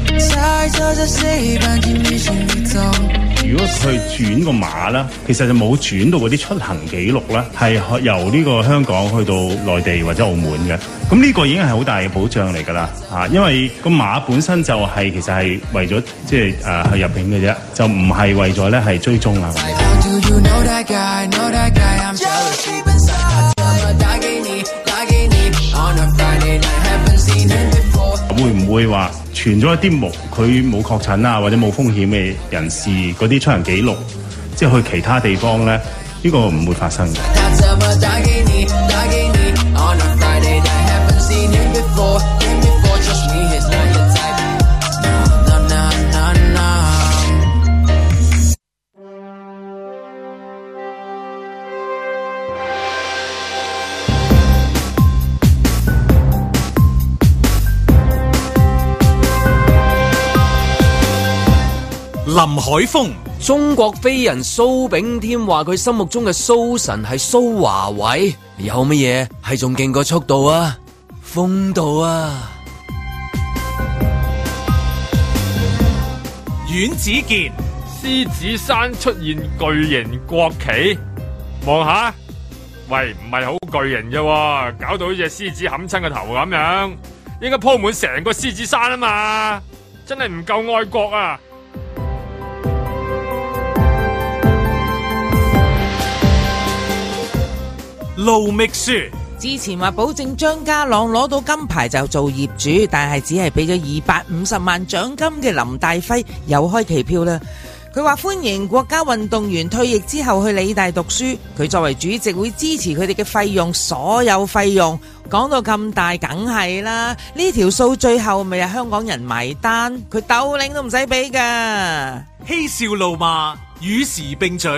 Speaker 8: 如果佢轉個碼啦，其實就冇轉到嗰啲出行記錄啦，係由呢個香港去到內地或者澳門嘅。咁呢個已經係好大嘅保障嚟㗎啦，嚇！因為個碼本身就係、是、其實係為咗即係誒去入境嘅啫，就唔係為咗咧係追蹤啊。會唔會話傳咗一啲冇佢冇確診啊或者冇風險嘅人士嗰啲出行記錄，即係去其他地方咧？呢、呢個唔會發生嘅。
Speaker 1: 林海峰，
Speaker 2: 中國飛人蘇炳添話佢心目中嘅蘇神係蘇華偉，有乜嘢係仲勁過速度啊？風度啊！
Speaker 1: 阮子健，
Speaker 3: 獅子山出現巨型國旗，望下，喂，唔係好巨型啫，搞到好似隻獅子冚親個頭咁樣，應該鋪滿成個獅子山啊嘛，真係唔夠愛國啊！
Speaker 1: 盧覓雪，
Speaker 4: 之前話保證張家朗攞到金牌就做業主，但係只係俾咗二百五十萬獎金嘅林大輝又開期票啦。佢話歡迎國家運動員退役之後去理大讀書，佢作為主席會支持佢哋嘅費用，所有費用講到咁大，梗係啦。呢條數最後咪係香港人埋單，佢斗領都唔使俾噶。
Speaker 1: 嬉笑怒罵與時並舉。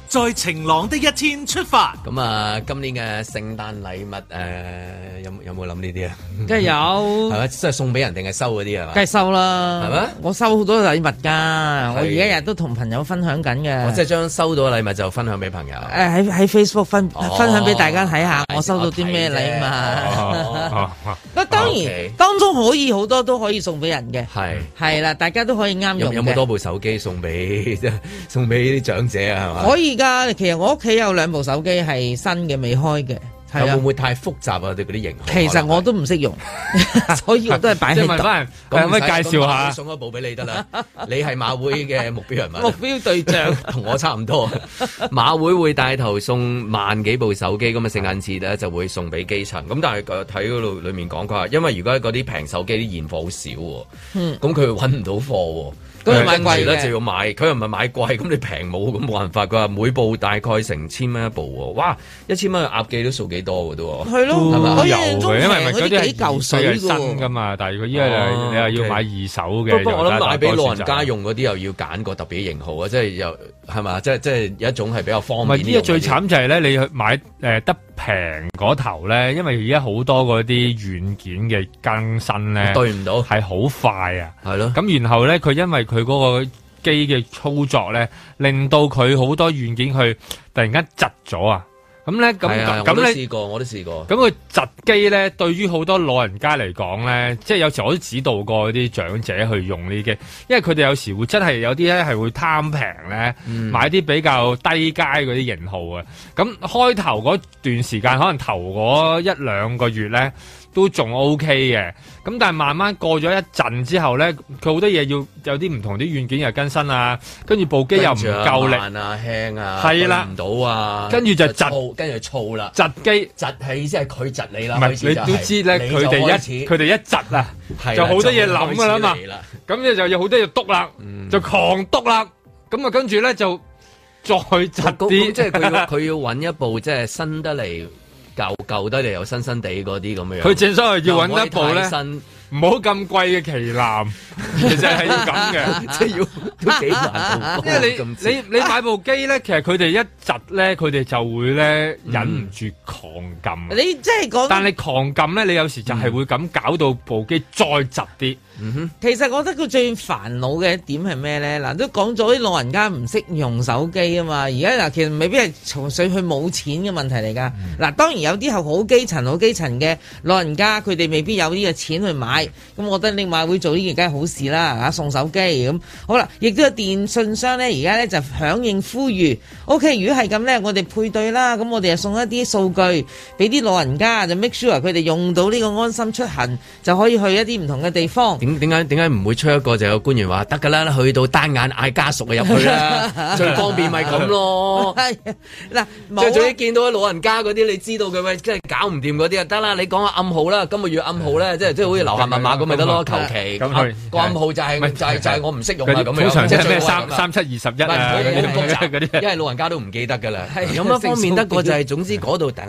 Speaker 1: 在晴朗的一天出發。
Speaker 2: 咁啊，今年嘅聖誕禮物誒、呃，有有冇諗呢啲啊？
Speaker 4: 梗係有，
Speaker 2: 係咪即係送俾人定係收嗰啲啊？
Speaker 4: 梗係收啦，係
Speaker 2: 咪？我
Speaker 4: 收好多禮物㗎，我而家日都同朋友分享緊嘅。
Speaker 2: 我即係將收到嘅禮物就分享俾朋友。誒
Speaker 4: 喺喺 Facebook 分、
Speaker 2: 哦、
Speaker 4: 分享俾大家睇下，我收到啲咩禮物。咁當然、okay. 當中可以好多都可以送俾人嘅，係係啦，大家都可以啱用嘅。有冇多部手機送俾送俾啲長者啊？係嘛？可以㗎，其實我屋企有兩部手機係新嘅，未開嘅。係啊，會唔會太複雜啊？對嗰啲型號，其實我都唔識用，所以我都係擺喺度。即係問翻，可唔可以介紹下？送一部俾你得啦。你係馬會嘅目標人物，目標對象同我差唔多。馬會會帶頭送萬幾部手機，咁啊聖誕節咧就會送俾基層。咁但係睇嗰度裡面講佢話，因為如果嗰啲平手機啲現貨好少喎，嗯，咁佢揾唔到貨喎。咁你買貴咧就要買，佢又唔係買貴，咁你平冇咁冇辦法。佢話每部大概成千蚊一部喎，哇！一千蚊鴨記都數幾多嘅都喎。係咯，係咪？我有嘅，因為咪嗰啲幾嚿水新㗎嘛。但係如果依家你又要買二手嘅，不過我諗買俾老人家用嗰啲又要揀個特別型號啊，即係又係嘛？即係即係有一種係比較方便。唔係呢個最慘就係咧，你去買誒得平嗰頭咧，因為而家好多嗰啲軟件嘅更新咧，對唔到係好快啊，係咯。咁然後咧，佢因為佢嗰個機嘅操作咧，令到佢好多軟件去突然間窒咗啊！咁咧，咁咁咁咧，試過我都試過。咁佢窒機咧，對於好多老人家嚟講咧，即係有時我都指導過啲長者去用呢啲機，因為佢哋有時會真係有啲咧係會貪平咧，嗯、買啲比較低階嗰啲型號啊。咁開頭嗰段時間，可能頭嗰一兩個月咧，都仲 OK 嘅，咁但係慢慢過咗一陣之後咧，佢好多嘢要有啲唔同啲軟件又更新啊，跟住部機又唔夠力啊，輕啊，係啦，唔到啊，跟住就窒，跟住燥啦，窒機窒係意思係佢窒你啦，唔係你都知咧，佢哋一佢哋一窒啊，就好多嘢諗噶啦嘛，咁你就有好多嘢篤啦，就狂篤啦，咁啊跟住咧就再窒啲，即係佢要佢要揾一部即係新得嚟。舊舊得嚟又新新地嗰啲咁嘅樣，佢正所謂要揾一部咧，唔好咁貴嘅旗艦，其實係要咁嘅，即係要都幾難。因為你你你買部機咧，其實佢哋一窒咧，佢哋就會咧忍唔住狂撳。你即係講，但係狂撳咧，你有時就係會咁搞到部機再窒啲。嗯哼，其實我覺得佢最煩惱嘅一點係咩咧？嗱，都講咗啲老人家唔識用手機啊嘛。而家嗱，其實未必係純粹佢冇錢嘅問題嚟噶。嗱、嗯，當然有啲係好基層、好基層嘅老人家，佢哋未必有呢個錢去買。咁我覺得你馬會做呢件梗係好事啦，嚇送手機咁好啦。亦都有電信商咧，而家咧就響應呼籲。O K， 如果係咁咧，我哋配對啦，咁我哋就送一啲數據俾啲老人家，就 make sure 佢哋用到呢個安心出行，就可以去一啲唔同嘅地方。點解點解唔會出一個就有官員話得㗎啦？去到單眼嗌家屬啊入去啦，最方便咪咁咯。係嗱，即係總之見到啲老人家嗰啲，你知道佢喂，即係搞唔掂嗰啲啊，得啦，你講下暗號啦，今個月暗號咧，即係即係好似留下密碼咁咪得咯，求其咁個暗號就係就係就係我唔識用啊咁樣。通常即係咩三三七二十一啊嗰啲，因為老人家都唔記得㗎啦。有乜方便得過就係總之嗰度等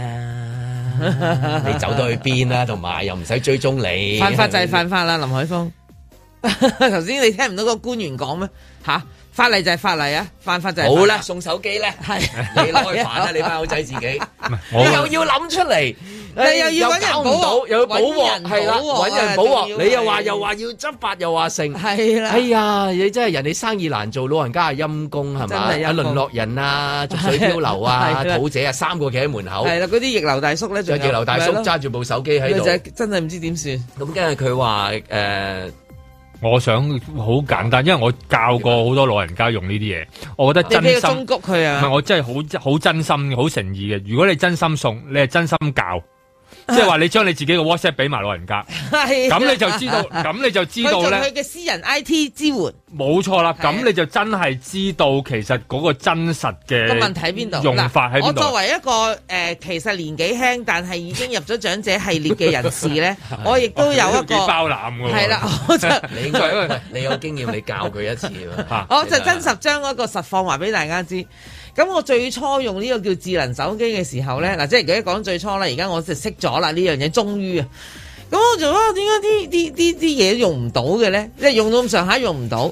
Speaker 4: 啊，你走到去邊啊，同埋又唔使追蹤你。犯法就係犯法啦，林海峰。頭先你聽唔到個官員講咩？吓、啊，法例就係法例啊，犯法就係。好啦，送手機咧，係你攞去煩啦，你班口仔自己，你又要諗出嚟。你又要揾人保到，又要保鑊，係啦，揾人保鑊。你又話又話要執法，又話成，係啦。哎呀，你真係人哋生意難做，老人家係陰公係嘛？啊，淪落人啊，逐水漂流啊，土姐啊，三個企喺門口。係啦，嗰啲逆流大叔咧，仲有逆流大叔揸住部手機喺度，真係唔知點算。咁跟住佢話誒，我想好簡單，因為我教過好多老人家用呢啲嘢，我覺得真心。你俾個忠告佢啊？唔係，我真係好好真心、好誠意嘅。如果你真心送，你係真心教。即係話你將你自己嘅 WhatsApp 俾埋老人家，咁你就知道，咁你就知道咧。佢嘅私人 I T 支援，冇錯啦。咁你就真係知道其實嗰個真實嘅個問題喺邊度，用法喺邊度。我作為一個誒、呃，其實年紀輕但係已經入咗長者系列嘅人士咧，我亦都有一個幾包攬嘅。係啦，我就你應該你有經驗，你教佢一次我就真實將嗰個實況話俾大家知。咁我最初用呢個叫智能手機嘅時候咧，嗱、嗯，即係而家講最初啦，而家我就識咗啦呢樣嘢，終於啊，咁我就話點解啲啲啲啲嘢用唔到嘅咧？即係用到咁上下用唔到，跟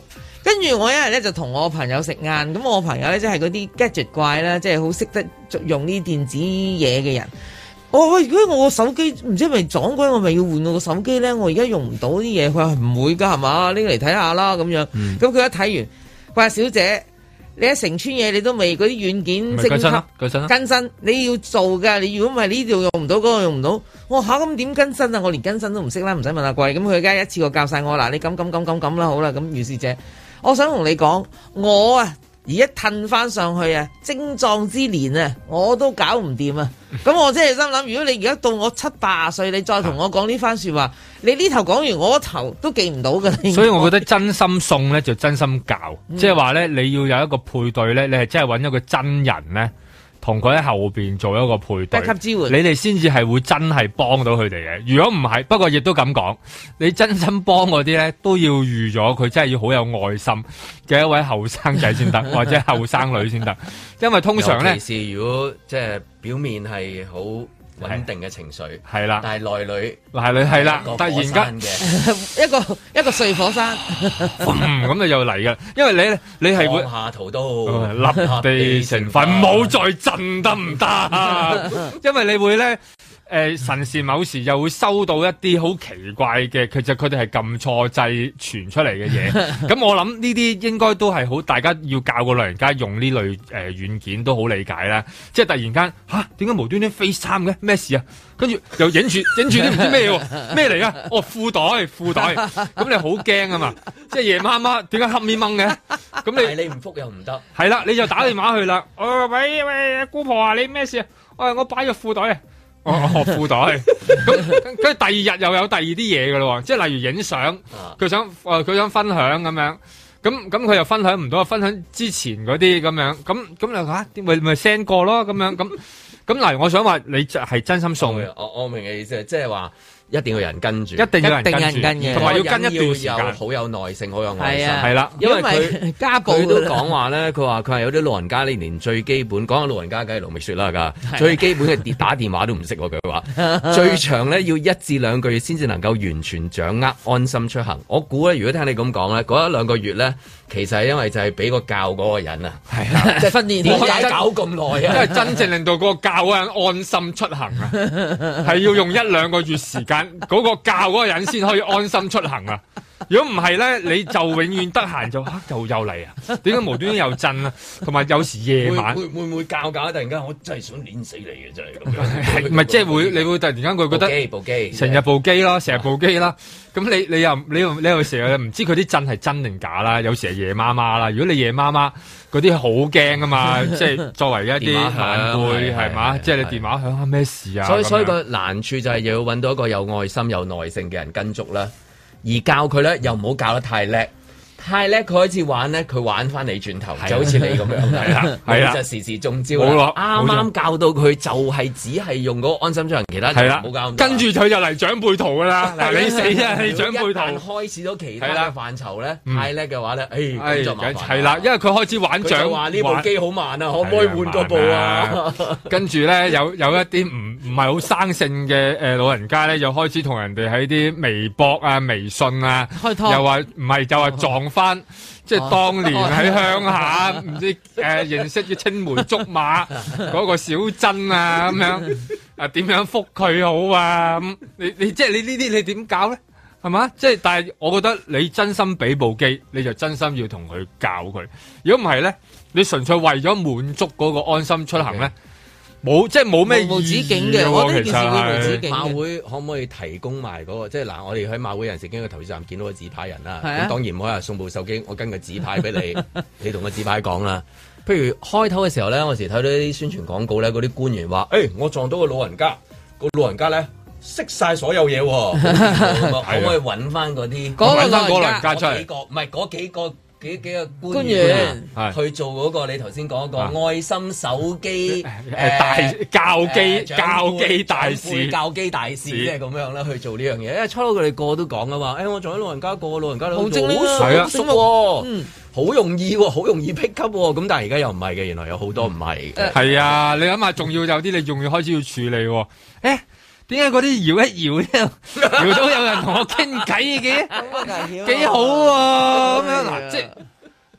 Speaker 4: 跟住我一日咧就同我朋友食晏，咁我朋友咧即係嗰啲 gadget 怪啦，即係好識得用呢電子嘢嘅人。我話喂，如果我個手機唔知係咪撞鬼，我咪要換我個手機咧？我而家用唔到啲嘢。佢話唔會㗎係嘛？拎嚟睇下啦咁樣。咁佢、嗯、一睇完，佢話小姐，你一成村嘢你都未嗰啲軟件升級更新，你要做㗎。你如果唔係呢度用唔到，嗰個用唔到。我話嚇咁點更新啊？我連更新都唔識啦，唔使問阿貴。咁佢而家一次過教晒我嗱，你咁咁咁咁咁啦，好啦。咁於是姐，我想同你講，我啊而家褪翻上去啊，精壯之年啊，我都搞唔掂啊。咁我真係心諗，如果你而家到我七八十歲，你再同我講呢番說話，你呢頭講完，我頭都記唔到㗎。
Speaker 3: 所以我覺得真心送咧就真心教，即係話咧你要有一個配對咧，你係真係揾一個真人咧，同佢喺後邊做一個配對，
Speaker 4: 一級支援，
Speaker 3: 你哋先至係會真係幫到佢哋嘅。如果唔係，不過亦都咁講，你真心幫嗰啲咧都要預咗佢真係要好有愛心嘅一位後生仔先得，或者後生女先得，因為通常咧，
Speaker 2: 尤其是如果即係表面係好穩定嘅情緒，
Speaker 3: 係啦，
Speaker 2: 但係內裏
Speaker 3: 內裏係啦，突然間
Speaker 4: 一個一個碎火山，
Speaker 3: 咁你又嚟㗎，因為你你係會
Speaker 2: 下圖都
Speaker 3: 立地成佛，唔好再震得唔得？因為你會咧。誒、呃、神時某時又會收到一啲好奇怪嘅，其實佢哋係撳錯掣傳出嚟嘅嘢。咁我諗呢啲應該都係好，大家要教個老人家用呢類誒、呃、軟件都好理解啦。即係突然間吓，點解無端端 FaceTime 嘅？咩事啊？跟住又影住影住啲唔知咩喎？咩嚟啊？哦，褲袋褲袋，咁你好驚啊嘛！即係夜媽媽點解黑咪掹嘅？咁你
Speaker 2: 你唔覆又唔得，
Speaker 3: 係啦，你就打電話去啦。哦，喂喂，姑婆啊，你咩事啊？我我擺咗褲袋啊！我學褲袋，咁跟住第二日又有第二啲嘢噶咯，即係例如影相，佢想誒佢想分享咁樣，咁咁佢又分享唔到，分享之前嗰啲咁樣，咁咁你吓咪咪 send 過咯，咁樣咁咁嗱，我想話你就係真心送嘅，
Speaker 2: 我我明嘅意思，即係話。一定要有人跟住，
Speaker 3: 一定要有人跟住，同埋要跟一段時間，
Speaker 2: 好有耐性，好有愛心，
Speaker 3: 係啦。
Speaker 2: 因為佢家暴，佢都講話咧，佢話佢係有啲老人家呢，連最基本講下老人家梗係盧覓雪啦，噶最基本嘅打電話都唔識，佢話最長咧要一至兩個月先至能夠完全掌握安心出行。我估咧，如果聽你咁講咧，嗰一兩個月咧，其實係因為就係俾個教嗰個人啊，係啊，即係訓練點解搞咁耐啊？因為真正令到嗰個教嗰人安心出行啊，係要用一兩個月時間，嗰個教嗰個人先可以安心出行啊！如果唔係咧，你就永遠得閒就啊又又嚟啊！點解無端端又震啊？同埋有，有時夜晚會會唔會教教突然間我真係想碾死你嘅真係咁樣，係
Speaker 3: 唔係即係會你會突然間佢覺得
Speaker 2: 部機
Speaker 3: 成日部機啦，成日部機啦。咁你你又你又你又成日唔知佢啲震係真定假啦？有時係夜媽媽啦。如果你夜媽媽嗰啲好驚啊嘛，即係作為一啲晚輩係嘛，即係你電話響啊咩事啊？
Speaker 2: 所以所以個難處就係要揾到一個有愛心有耐性嘅人跟足啦。而教佢咧，又唔好教得太叻，太叻佢開始玩咧，佢玩翻你轉頭，就好似你咁樣，係啦，係啦，就時時中招啦。啱啱教到佢就係只係用嗰個安心出行，其他就唔好教。
Speaker 3: 跟住佢就嚟長輩圖噶啦，嗱你死啊，你長輩圖。
Speaker 2: 但開始咗其他嘅範疇咧，太叻嘅話咧，誒咁就麻煩。
Speaker 3: 係啦，因為佢開始玩長。
Speaker 2: 佢話呢部機好慢啊，可唔可以換個部啊？
Speaker 3: 跟住咧，有有一啲唔唔係好生性嘅誒老人家咧，又開始同人哋喺啲微博啊、微信啊，又話唔係就話撞翻，即係當年喺鄉下唔知誒認識嘅青梅竹馬嗰個小珍啊咁樣啊，點樣覆佢好啊？咁你你即係你呢啲你點搞咧？係嘛？即係但係我覺得你真心俾部機，你就真心要同佢教佢。如果唔係咧，你純粹為咗滿足嗰個安心出行咧。冇，即係冇咩
Speaker 4: 無止境嘅，我呢件事會無止境嘅。
Speaker 2: 馬會可唔可以提供埋嗰個？即係嗱，我哋喺馬會有陣時經過投資站見到個紙牌人啦。咁當然唔可以話送部手機，我跟個紙牌俾你，你同個紙牌講啦。譬如開頭嘅時候咧，我時睇到啲宣傳廣告咧，嗰啲官員話：誒，我撞到個老人家，個老人家咧識晒所有嘢，可唔可以揾翻嗰啲？
Speaker 3: 揾翻個老人家出嚟？
Speaker 2: 唔係嗰幾個。幾幾個官員去做嗰個你頭先講嗰個愛心手機誒
Speaker 3: 大教機教機大使
Speaker 2: 教機大使，即係咁樣啦去做呢樣嘢。因為初初佢哋個都講啊嘛，誒我仲喺老人家個老人家好精靈啊，係啊，熟喎，好容易喎，好容易 pick up 喎。咁但係而家又唔係嘅，原來有好多唔係嘅。係
Speaker 3: 啊，你諗下，仲要有啲你仲要開始要處理喎。誒點解嗰啲搖一搖咧，搖到有人同我傾偈嘅？幾好喎！咁樣嗱，即係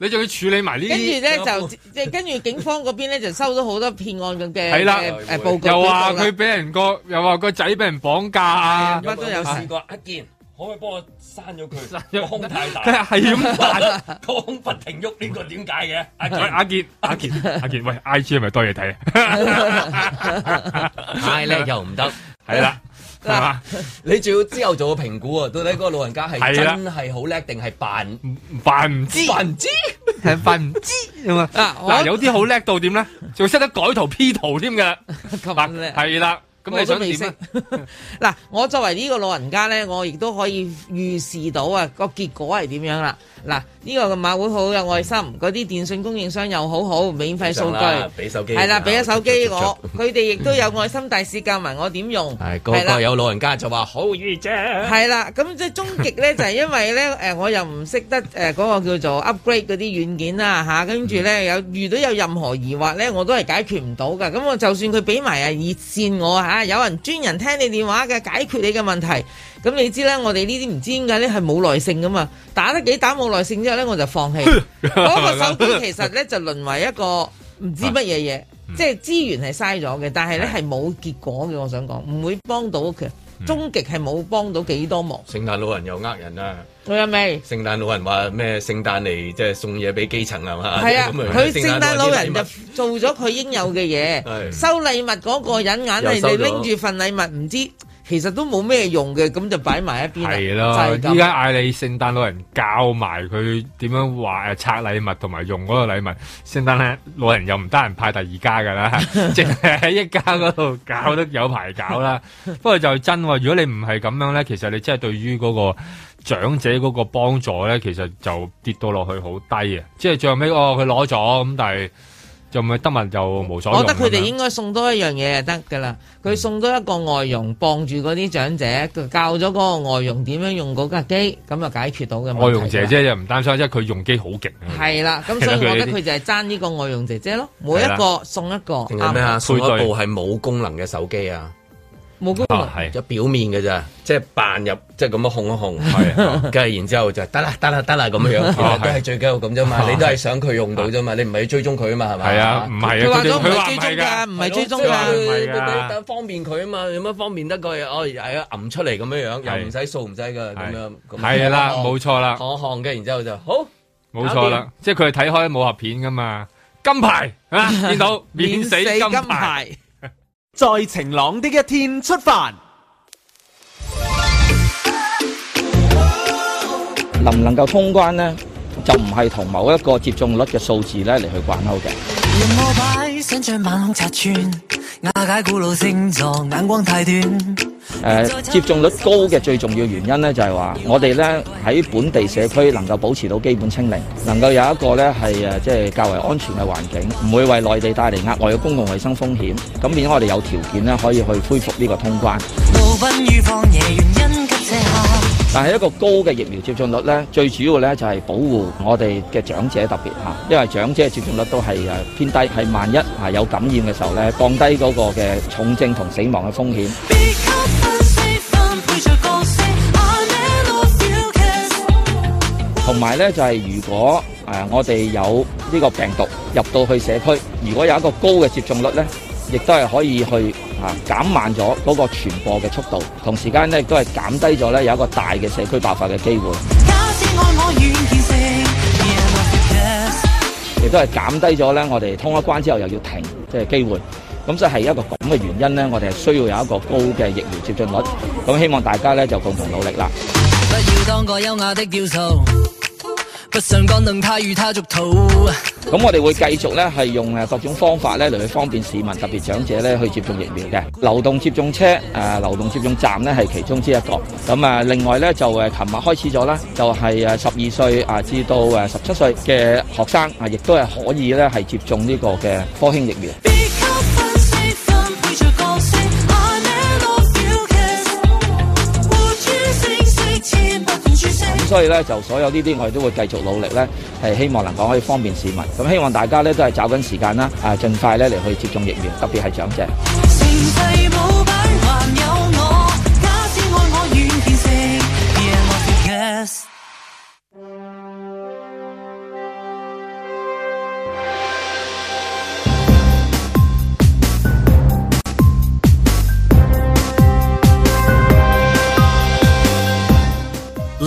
Speaker 3: 你仲要處理埋呢啲，
Speaker 4: 跟住咧就即係跟住警方嗰邊咧就收到好多騙案嘅嘅
Speaker 3: 係啦
Speaker 4: 誒報告，
Speaker 3: 又話佢俾人個，又話個仔俾人綁架啊，
Speaker 4: 乜都有試
Speaker 2: 過一件。可唔可以幫我刪咗佢？個胸太大，
Speaker 3: 係咁辦，
Speaker 2: 個胸不停喐，呢個點解嘅？阿
Speaker 3: 喂，阿健，阿健，阿健，喂 ，I G 係咪多嘢睇啊？
Speaker 2: 太叻又唔得，
Speaker 3: 係啦，係嘛？
Speaker 2: 你仲要之後做個評估啊？到底嗰個老人家係真係好叻定係扮
Speaker 3: 扮唔知？
Speaker 2: 扮唔知？
Speaker 3: 係扮唔知咁啊？嗱，有啲好叻到點咧？仲識得改圖 P 圖添嘅，
Speaker 4: 咁叻
Speaker 3: 係啦。咁你想點啊？
Speaker 4: 嗱，我作為呢個老人家咧，我亦都可以預示到啊個結果係點樣啦。嗱，呢個嘅馬會好有愛心，嗰啲電信供應商又好好，免費數據，
Speaker 2: 俾手機，
Speaker 4: 係啦，俾咗手機我，佢哋亦都有愛心大使教埋我點用。
Speaker 2: 係個個有老人家就話好易啫。係
Speaker 4: 啦，咁即係終極咧，就係因為咧誒，我又唔識得誒嗰個叫做 upgrade 嗰啲軟件啦嚇，跟住咧有遇到有任何疑惑咧，我都係解決唔到㗎。咁我就算佢俾埋啊熱線我嚇，有人專人聽你電話嘅解決你嘅問題。咁你知啦，我哋呢啲唔知點解咧係冇耐性噶嘛，打得幾打冇耐性之後咧我就放棄。嗰個手機其實咧就淪為一個唔知乜嘢嘢，啊嗯、即係資源係嘥咗嘅，但係咧係冇結果嘅。我想講唔會幫到嘅，終極係冇幫到幾多忙。
Speaker 2: 聖誕老人又呃人啊！
Speaker 4: 佢有未？
Speaker 2: 聖誕老人話咩？聖誕嚟即係送嘢俾基層係嘛？
Speaker 4: 係啊，佢聖誕老人就做咗佢應有嘅嘢，收禮物嗰個人眼係你拎住份禮物唔知。其實都冇咩用嘅，咁就擺埋一邊啦。係
Speaker 3: 咯，依家嗌你聖誕老人教埋佢點樣話誒拆禮物同埋用嗰個禮物。聖誕老人又唔得閒派第二家噶啦，淨係喺一家嗰度搞得有排搞啦。不過就真，如果你唔係咁樣咧，其實你真係對於嗰個長者嗰個幫助咧，其實就跌到落去好低啊！即係最後尾哦，佢攞咗咁，但係。就咪得物就無所用。
Speaker 4: 我覺得佢哋應該送多一樣嘢就得㗎啦。佢送多一個外傭，幫住嗰啲長者，教咗嗰個外傭點樣用嗰架機，咁就解決到嘅問題。
Speaker 3: 外傭姐姐就唔擔心，因為佢用機好勁。
Speaker 4: 係啦，咁所以我覺得佢就係爭呢個外傭姐姐咯，每一個送一個。
Speaker 2: 仲有咩啊？送一部係冇功能嘅手機啊！
Speaker 4: 冇功能，
Speaker 2: 係有表面嘅咋，即係扮入，即係咁樣控一控，係，跟住然之後就得啦，得啦，得啦咁樣樣，其實都係最緊要咁啫嘛，你都係想佢用到啫嘛，你唔係追蹤佢啊嘛，係咪？
Speaker 3: 係啊，唔係啊，
Speaker 4: 佢話咗唔係追蹤㗎，唔係追蹤㗎，
Speaker 2: 佢方便佢啊嘛，有乜方便得過哦？係啊，揞出嚟咁樣樣，又唔使掃唔使㗎，咁樣，
Speaker 3: 係啦，冇錯啦，
Speaker 2: 看一看嘅，然之後就好，
Speaker 3: 冇錯啦，即係佢係睇開武俠片㗎嘛，金牌啊，見到免死金牌。
Speaker 5: 在晴朗的一天出發，
Speaker 9: 能唔能夠通關呢？就唔係同某一個接種率嘅數字咧嚟去掛鈎嘅。誒、呃，接種率高嘅最重要原因咧，就係、是、話我哋咧喺本地社區能夠保持到基本清零，能夠有一個咧係誒即係較為安全嘅環境，唔會為內地帶嚟額外嘅公共衛生風險。咁變咗我哋有條件咧可以去恢復呢個通關。但係一個高嘅疫苗接種率咧，最主要咧就係、是、保護我哋嘅長者特別嚇，因為長者嘅接種率都係誒偏低，係萬一係有感染嘅時候咧，降低嗰個嘅重症同死亡嘅風險。同埋咧就係、是、如果誒、呃、我哋有呢個病毒入到去社區，如果有一個高嘅接種率咧，亦都係可以去啊減慢咗嗰個傳播嘅速度，同時間咧亦都係減低咗咧有一個大嘅社區爆發嘅機會，亦都係減低咗咧我哋通咗關之後又要停即係機會。咁所以係一個咁嘅原因咧，我哋係需要有一個高嘅疫苗接種率。咁希望大家咧就共同努力啦。不要當個優雅的雕塑，不上綱能他與他逐途。咁我哋會繼續咧係用誒各種方法咧嚟去方便市民，特別長者咧去接種疫苗嘅。流動接種車誒、呃、流動接種站咧係其中之一個。咁啊，另外咧就誒琴日開始咗啦，就係誒十二歲啊至到誒十七歲嘅學生啊，亦都係可以咧係接種呢個嘅科興疫苗。咁所以咧，就所有呢啲我哋都會繼續努力咧，係希望能夠可以方便市民。咁希望大家咧都係找緊時間啦，啊，盡快咧嚟去接種疫苗，特別係長者。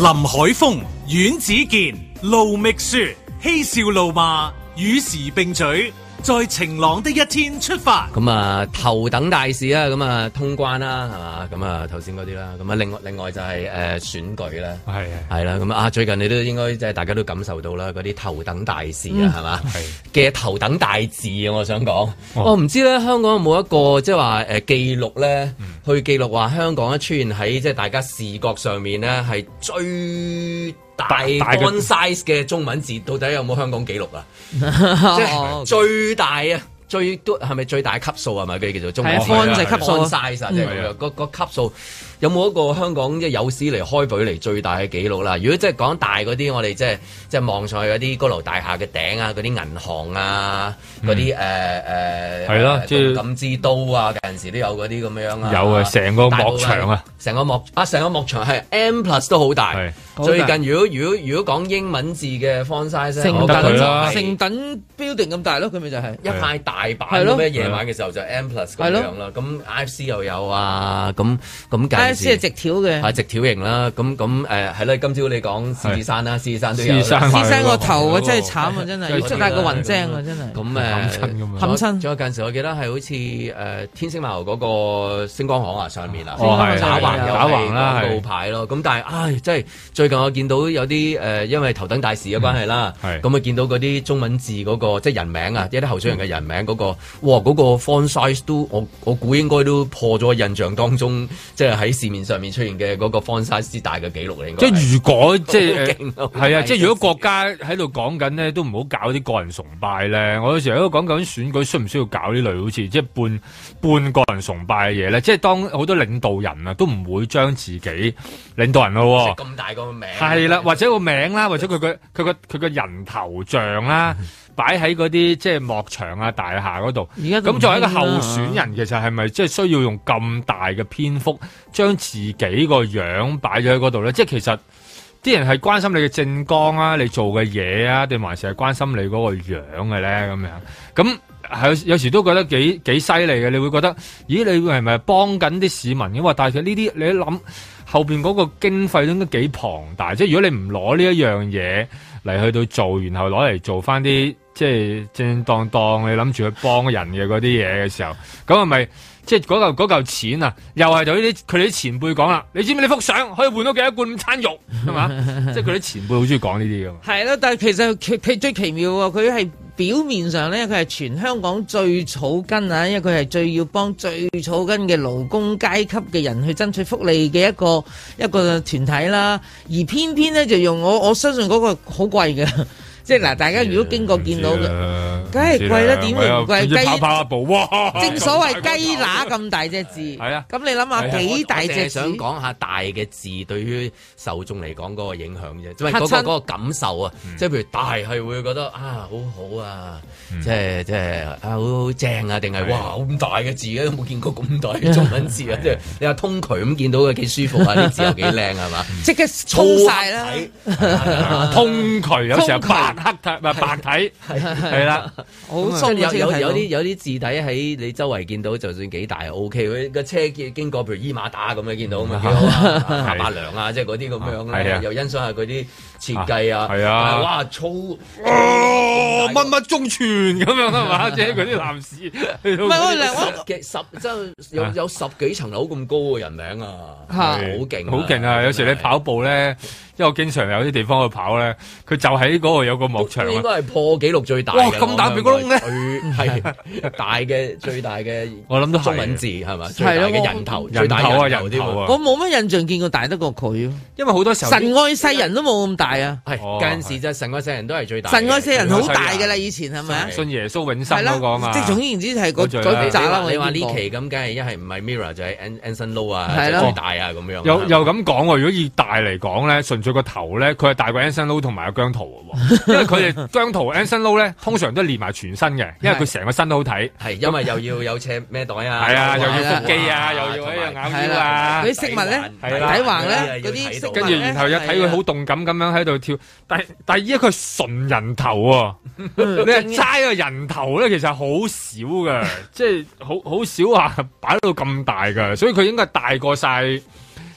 Speaker 1: 林海峰、阮子健、盧覓雪，嬉笑怒罵，與時並舉。在晴朗的一天出發。
Speaker 2: 咁啊，頭等大事啦，咁啊通關啦，係嘛？咁啊頭先嗰啲啦，咁啊另外另外就係、是、誒、呃、選舉啦，係係啦，咁啊最近你都應該即係大家都感受到啦，嗰啲頭等大事啊，係嘛？嘅頭等大事啊，我想講，我唔、哦、知咧香港有冇一個即係話誒記錄咧，嗯、去記錄話香港咧出現喺即係大家視覺上面咧係最大 font size 嘅中文字，到底有冇香港記錄啊？即係最大啊，最都係咪最大級數啊？咪佢叫做中文 font 就級數 size 啊，即係個個級數有冇一個香港即係有史嚟開舉嚟最大嘅記錄啦？如果即係講大嗰啲，我哋即係即係望上去嗰啲高樓大廈嘅頂啊，嗰啲銀行啊，嗰啲誒誒係咯，即係動感之都啊，有陣時都有嗰啲咁樣啊，有啊，成個幕牆啊，成個幕啊，成個幕牆係 M plus 都好大。最近如果如果如果講英文字嘅 font size，
Speaker 4: 成等成等 building 咁大咯，佢咪就係一塊大板咁咩？夜晚嘅時候就 M plus 咁樣啦。咁 I F C 又有啊，咁咁 I F C 係直條嘅，係直條型啦。咁咁誒係啦。今朝你講獅子山啦，獅子山都有。獅子山個頭啊，真係慘啊，真係要出大個雲精啊，真係。咁誒冚親咁樣，冚親。仲有近時我記得係好似誒天星碼頭嗰個星光行啊上面啊，打橫又係廣告牌咯。咁但係唉，真係最近我見到有啲誒、呃，因為頭等大事嘅關係啦，咁啊見到嗰啲中文字嗰、那個即係人名啊，一啲候選人嘅人名嗰、那個，哇嗰、那個 font size 都我我估應該都破咗印象當中，即係喺市面上面出現嘅嗰個 font size 之大嘅紀錄嚟。應該即係如果即係係啊，即係如果國家喺度講緊呢，都唔好搞啲個人崇拜咧。我有時喺度講緊選舉需唔需要搞呢類好似即係半半個人崇拜嘅嘢咧？即係當好多領導人啊都唔會將自己領導人咯，咁大個名。係啦，或者個名啦，或者佢個佢個佢個人頭像啦，擺喺嗰啲即係幕牆啊、大廈嗰度。咁作為一個候選人，其實係咪即係需要用咁大嘅篇幅，將自己個樣擺咗喺嗰度咧？即係其實啲人係關心你嘅政綱啊，你做嘅嘢啊，定還是係關心你嗰個樣嘅咧？咁樣咁係有時都覺得幾幾犀利嘅。你會覺得，咦？你係咪幫緊啲市民嘅話？但係其實呢啲你一諗。後邊嗰個經費都應該幾龐大，即係如果你唔攞呢一樣嘢嚟去到做，然後攞嚟做翻啲即係正正當當你諗住去幫人嘅嗰啲嘢嘅時候，咁係咪即係嗰嚿嗰嚿錢啊？又係就呢啲佢哋啲前輩講啦，你知唔知你幅相可以換到幾多罐午餐肉係嘛？即係佢啲前輩好中意講呢啲㗎嘛。係咯，但係其實佢佢最奇妙喎，佢係。表面上咧，佢係全香港最草根啊，因為佢係最要幫最草根嘅勞工階級嘅人去爭取福利嘅一個一個團體啦。而偏偏咧就用我我相信嗰個好貴嘅。即係嗱，大家如果經過見到嘅，梗係貴啦，點會唔貴？雞跑跑一步，哇！正所謂雞乸咁大隻字，係啊。咁你諗下幾大隻字？想講下大嘅字對於受眾嚟講嗰個影響啫，即係嗰個嗰個感受啊。即係譬如大係會覺得啊，好好啊，即係即係啊，好正啊，定係哇咁大嘅字嘅，都冇見過咁大嘅中文字啊！即係你話通渠咁見到嘅幾舒服啊，啲字又幾靚係嘛？即刻通晒啦！通渠有時候白黑體唔係白體係啦，好鬆有有有啲有啲字體喺你周圍見到，就算幾大 O K。佢個車經過，譬如伊馬打咁樣見到咁啊，幾好啊，下巴梁啊，即係嗰啲咁樣咧，又欣賞下佢啲設計啊，係啊，哇粗哦，乜乜中全咁樣啊嘛，即係嗰啲男士唔係我兩幾十即係有有十幾層樓咁高嘅人名啊，好勁好勁啊！有時你跑步咧。因為我經常有啲地方去跑咧，佢就喺嗰度有個幕牆，應該係破紀錄最大嘅。哇！咁大鼻哥窿咧，係大嘅最大嘅，我諗都中文字係嘛？最大嘅人頭，人頭啊人頭啊！我冇乜印象見過大得過佢，因為好多時候神愛世人都冇咁大啊。係近時就神愛世人都係最大。神愛世人好大㗎啦，以前係咪啊？信耶穌永生嗰個啊嘛。即係總言之係嗰嗰扎啦。你話呢期咁，梗係一係唔係 Mirror 就係 Anson Lo 啊，最大啊咁樣。又又咁講喎，如果以大嚟講咧，純。佢個頭咧，佢係大過 Anson Lo 同埋阿姜濤嘅，因為佢哋姜濤 Anson Lo 咧，通常都連埋全身嘅，因為佢成個身都好睇。係因為又要有斜孭袋啊，係啊，又要腹肌啊，又要喺度咬腰啊，嗰啲飾物咧，底橫咧，嗰啲飾物咧，跟住然後又睇佢好動感咁樣喺度跳。但係但係依家佢係純人頭喎，你係齋個人頭咧，其實好少嘅，即係好好少話擺到咁大嘅，所以佢應該大過晒。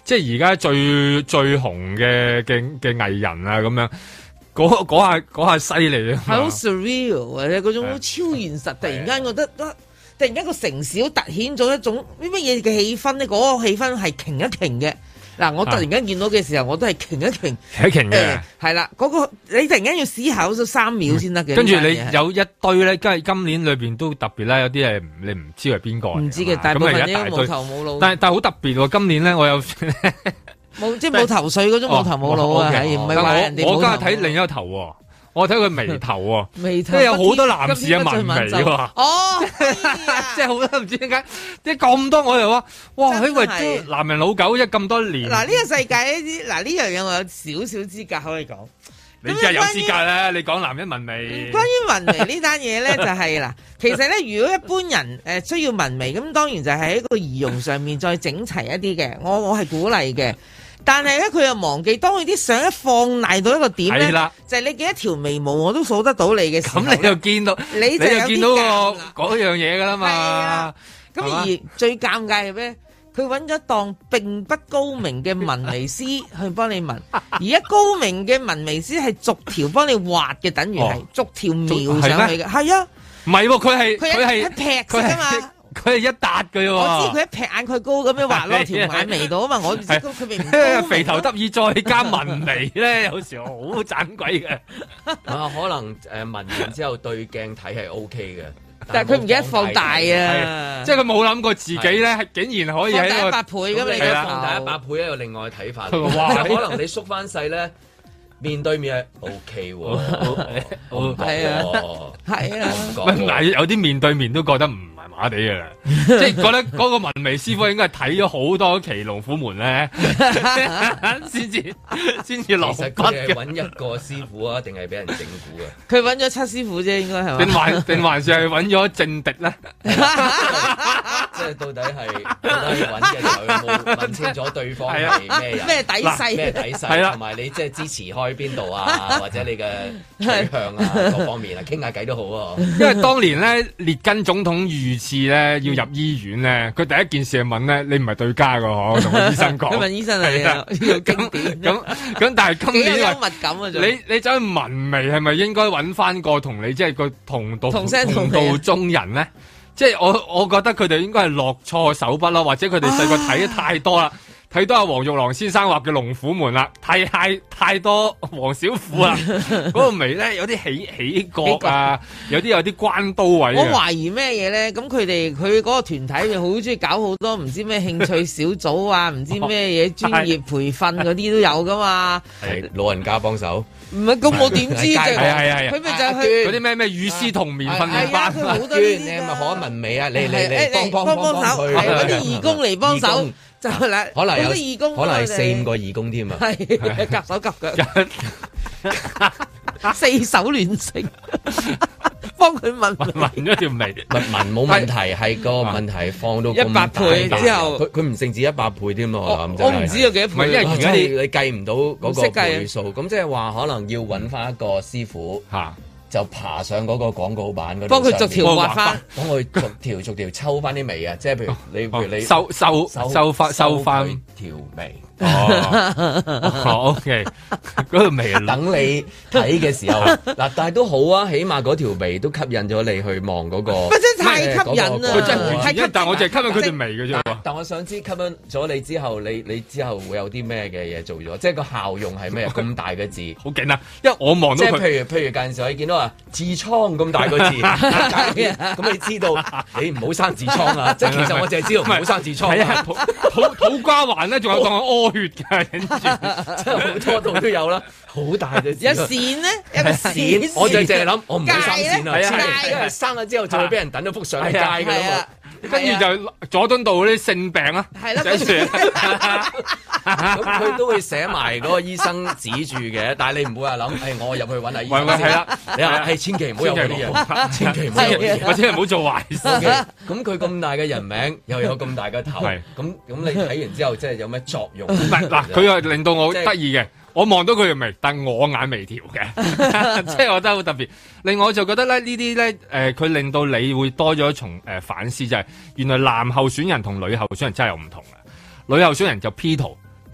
Speaker 3: 即係而家最最紅嘅嘅嘅藝人啊咁樣。嗰嗰下嗰下犀利啊！
Speaker 4: 係好 surreal 或者嗰種好超現實，突然間覺得，突然間個城市好突顯咗一種乜乜嘢嘅氣氛咧，嗰、那個氣氛係擎一擎嘅。嗱，我突然間見到嘅時候，我都係擎一擎，
Speaker 3: 擎一擎嘅。係
Speaker 4: 啦、呃，嗰、那個你突然間要思考咗三秒先得嘅。
Speaker 3: 跟住你有一堆咧，跟住今年裏邊都特別咧，有啲係你唔知係邊個。唔
Speaker 4: 知嘅，大部分都冇頭冇腦。
Speaker 3: 但係但係好特別喎，今年咧我有。
Speaker 4: 冇即係冇頭緒嗰種冇頭冇腦啊，係唔係話人哋冇頭？
Speaker 3: 我今日睇另一個頭喎，我睇佢眉頭喎，
Speaker 4: 眉頭
Speaker 3: 即係有好多男士嘅紋眉喎。
Speaker 4: 哦，
Speaker 3: 即係好多唔知點解，即係咁多我又話，哇！佢為男人老狗一咁多年。
Speaker 4: 嗱呢個世界呢啲，嗱呢樣嘢我有少少資格可以講。
Speaker 3: 你真係有資格啦！你講男人紋眉。
Speaker 4: 關於紋眉呢單嘢咧，就係嗱，其實咧，如果一般人誒需要紋眉，咁當然就係喺一個儀容上面再整齊一啲嘅，我我係鼓勵嘅。但係咧，佢又忘記，當佢啲相一放大到一個點咧，就係你幾多條眉毛我都數得到你嘅時候，
Speaker 3: 咁你就見到，
Speaker 4: 你就
Speaker 3: 見到個嗰樣嘢噶啦嘛。
Speaker 4: 咁而最尷尬係咩？佢揾咗檔並不高明嘅紋眉師去幫你紋，而家高明嘅紋眉師係逐條幫你畫嘅，等於係逐條描上去嘅。係啊，
Speaker 3: 唔係喎，佢係
Speaker 4: 佢係一劈㗎嘛。
Speaker 3: 佢係一笪嘅喎，
Speaker 4: 我知佢一劈眼佢高咁樣畫落條眼眉度啊嘛，我知佢明明
Speaker 3: 肥頭得意再加紋眉咧，有時好盞鬼嘅。
Speaker 2: 啊，可能誒紋完之後對鏡睇係 O K 嘅，
Speaker 4: 但係佢唔記得放大啊，
Speaker 3: 即係佢冇諗過自己咧，竟然可以喺個
Speaker 4: 一百倍咁你
Speaker 2: 放大一百倍，有另外睇法。哇！可能你縮翻細咧。面對面係 O K 喎，
Speaker 4: 係啊，係啊，
Speaker 3: 唔係有啲面對面都覺得唔係麻地嘅啦，即係覺得嗰個紋眉師傅應該係睇咗好多期《龍虎門》咧，先至先至落筆嘅。其實佢係
Speaker 2: 揾一個師傅啊，定係俾人整蠱啊？
Speaker 4: 佢揾咗七師傅啫，應該係嘛？
Speaker 3: 定還定還是係揾咗政敵咧？
Speaker 2: 即係到底係到底揾嘅時候有冇問清楚對方係咩人？
Speaker 4: 咩底細？
Speaker 2: 咩底細？同埋你即係支持開邊度啊？或者你嘅取向啊，各方面啊，傾下偈都好啊。
Speaker 3: 因為當年咧，列根總統遇刺咧，要入醫院咧，佢第一件事係問咧，你唔係對家噶嗬？同個醫生講。
Speaker 4: 佢問醫生係啊，呢個經典。
Speaker 3: 咁咁，但係今年
Speaker 4: 幽默感啊，
Speaker 3: 你你走去紋眉係咪應該揾翻個同你即係個同道
Speaker 4: 同聲
Speaker 3: 同道中人咧？即係我我覺得佢哋應該係落錯手筆啦，或者佢哋細個睇得太多啦。睇多阿黃玉郎先生畫嘅《龍虎門》啦，太太太多黃小虎啦，嗰個眉咧有啲起起角啊，有啲有啲關刀位。
Speaker 4: 我懷疑咩嘢咧？咁佢哋佢嗰個團體就好中意搞好多唔知咩興趣小組啊，唔知咩嘢專業培訓嗰啲都有噶嘛。
Speaker 2: 係老人家幫手。
Speaker 4: 唔係咁，我點知啫？
Speaker 3: 係係係，
Speaker 4: 佢咪就係去
Speaker 3: 嗰啲咩咩與師同眠訓練班。
Speaker 4: 佢好多呢啲。
Speaker 2: 你係咪可紋眉啊？你你你幫幫
Speaker 4: 幫幫手，係嗰啲義工嚟幫手。就嗱，
Speaker 2: 可能有
Speaker 4: 義工，
Speaker 2: 可能係四五個義工添啊，
Speaker 4: 係夾手夾腳，四手聯成，幫佢紋
Speaker 3: 紋咗條眉，
Speaker 2: 紋冇問題，係個問題放到
Speaker 4: 一百倍之後，
Speaker 2: 佢佢唔淨止一百倍添咯，我諗
Speaker 4: 我唔知有幾多倍，
Speaker 2: 因為如果你你計唔到嗰個倍數，咁即係話可能要揾翻一個師傅嚇。就爬上嗰個廣告板嗰度，
Speaker 4: 幫佢逐條畫翻，
Speaker 2: 幫佢逐條逐條抽翻啲眉啊！即係譬如你譬如你
Speaker 3: 收收收翻收翻
Speaker 2: 條眉。
Speaker 3: 哦，OK，嗰條眉
Speaker 2: 等你睇嘅時候，嗱，但係都好啊，起碼嗰條眉都吸引咗你去望嗰個。
Speaker 4: 真係太吸引啦！
Speaker 3: 佢真係吸引，但係我淨係吸引佢條眉嘅啫。
Speaker 2: 但我想知吸引咗你之後，你你之後會有啲咩嘅嘢做咗？即係個效用係咩？咁大嘅字，
Speaker 3: 好勁啊！因為我望到佢，
Speaker 2: 即係譬如譬如近時我見到話痔瘡咁大個字，咁你知道你唔好生痔瘡啊！即係其實我淨係知道唔好生痔瘡。係啊，
Speaker 3: 土土土瓜環咧，仲有當我屙血嘅，跟住
Speaker 2: 真係好多度都有啦，好大嘅字。
Speaker 4: 有線咧，有個線，
Speaker 2: 我就淨係諗，我唔好生線啊！
Speaker 4: 係
Speaker 2: 因為生咗之後就會俾人等咗幅相喺街㗎啦嘛。
Speaker 3: 跟住就佐敦道嗰啲性病啊，寫住，
Speaker 2: 咁佢都會寫埋嗰個醫生指住嘅，但係你唔會話諗，誒我入去揾下醫生。
Speaker 3: 係啦，
Speaker 2: 你話係千祈唔好有嗰啲嘢，千祈唔好有啲嘢，
Speaker 3: 或者係唔好做壞事。
Speaker 2: 咁佢咁大嘅人名，又有咁大嘅頭，咁咁你睇完之後，即係有咩作用？
Speaker 3: 唔係嗱，佢又令到我得意嘅。我望到佢條眉，但我眼眉條嘅，即係我覺得好特別。另外我就覺得咧，呢啲咧，誒、呃，佢令到你會多咗一重誒反思，就係、是、原來男候選人同女候選人真係有唔同嘅。女候選人就 P 圖，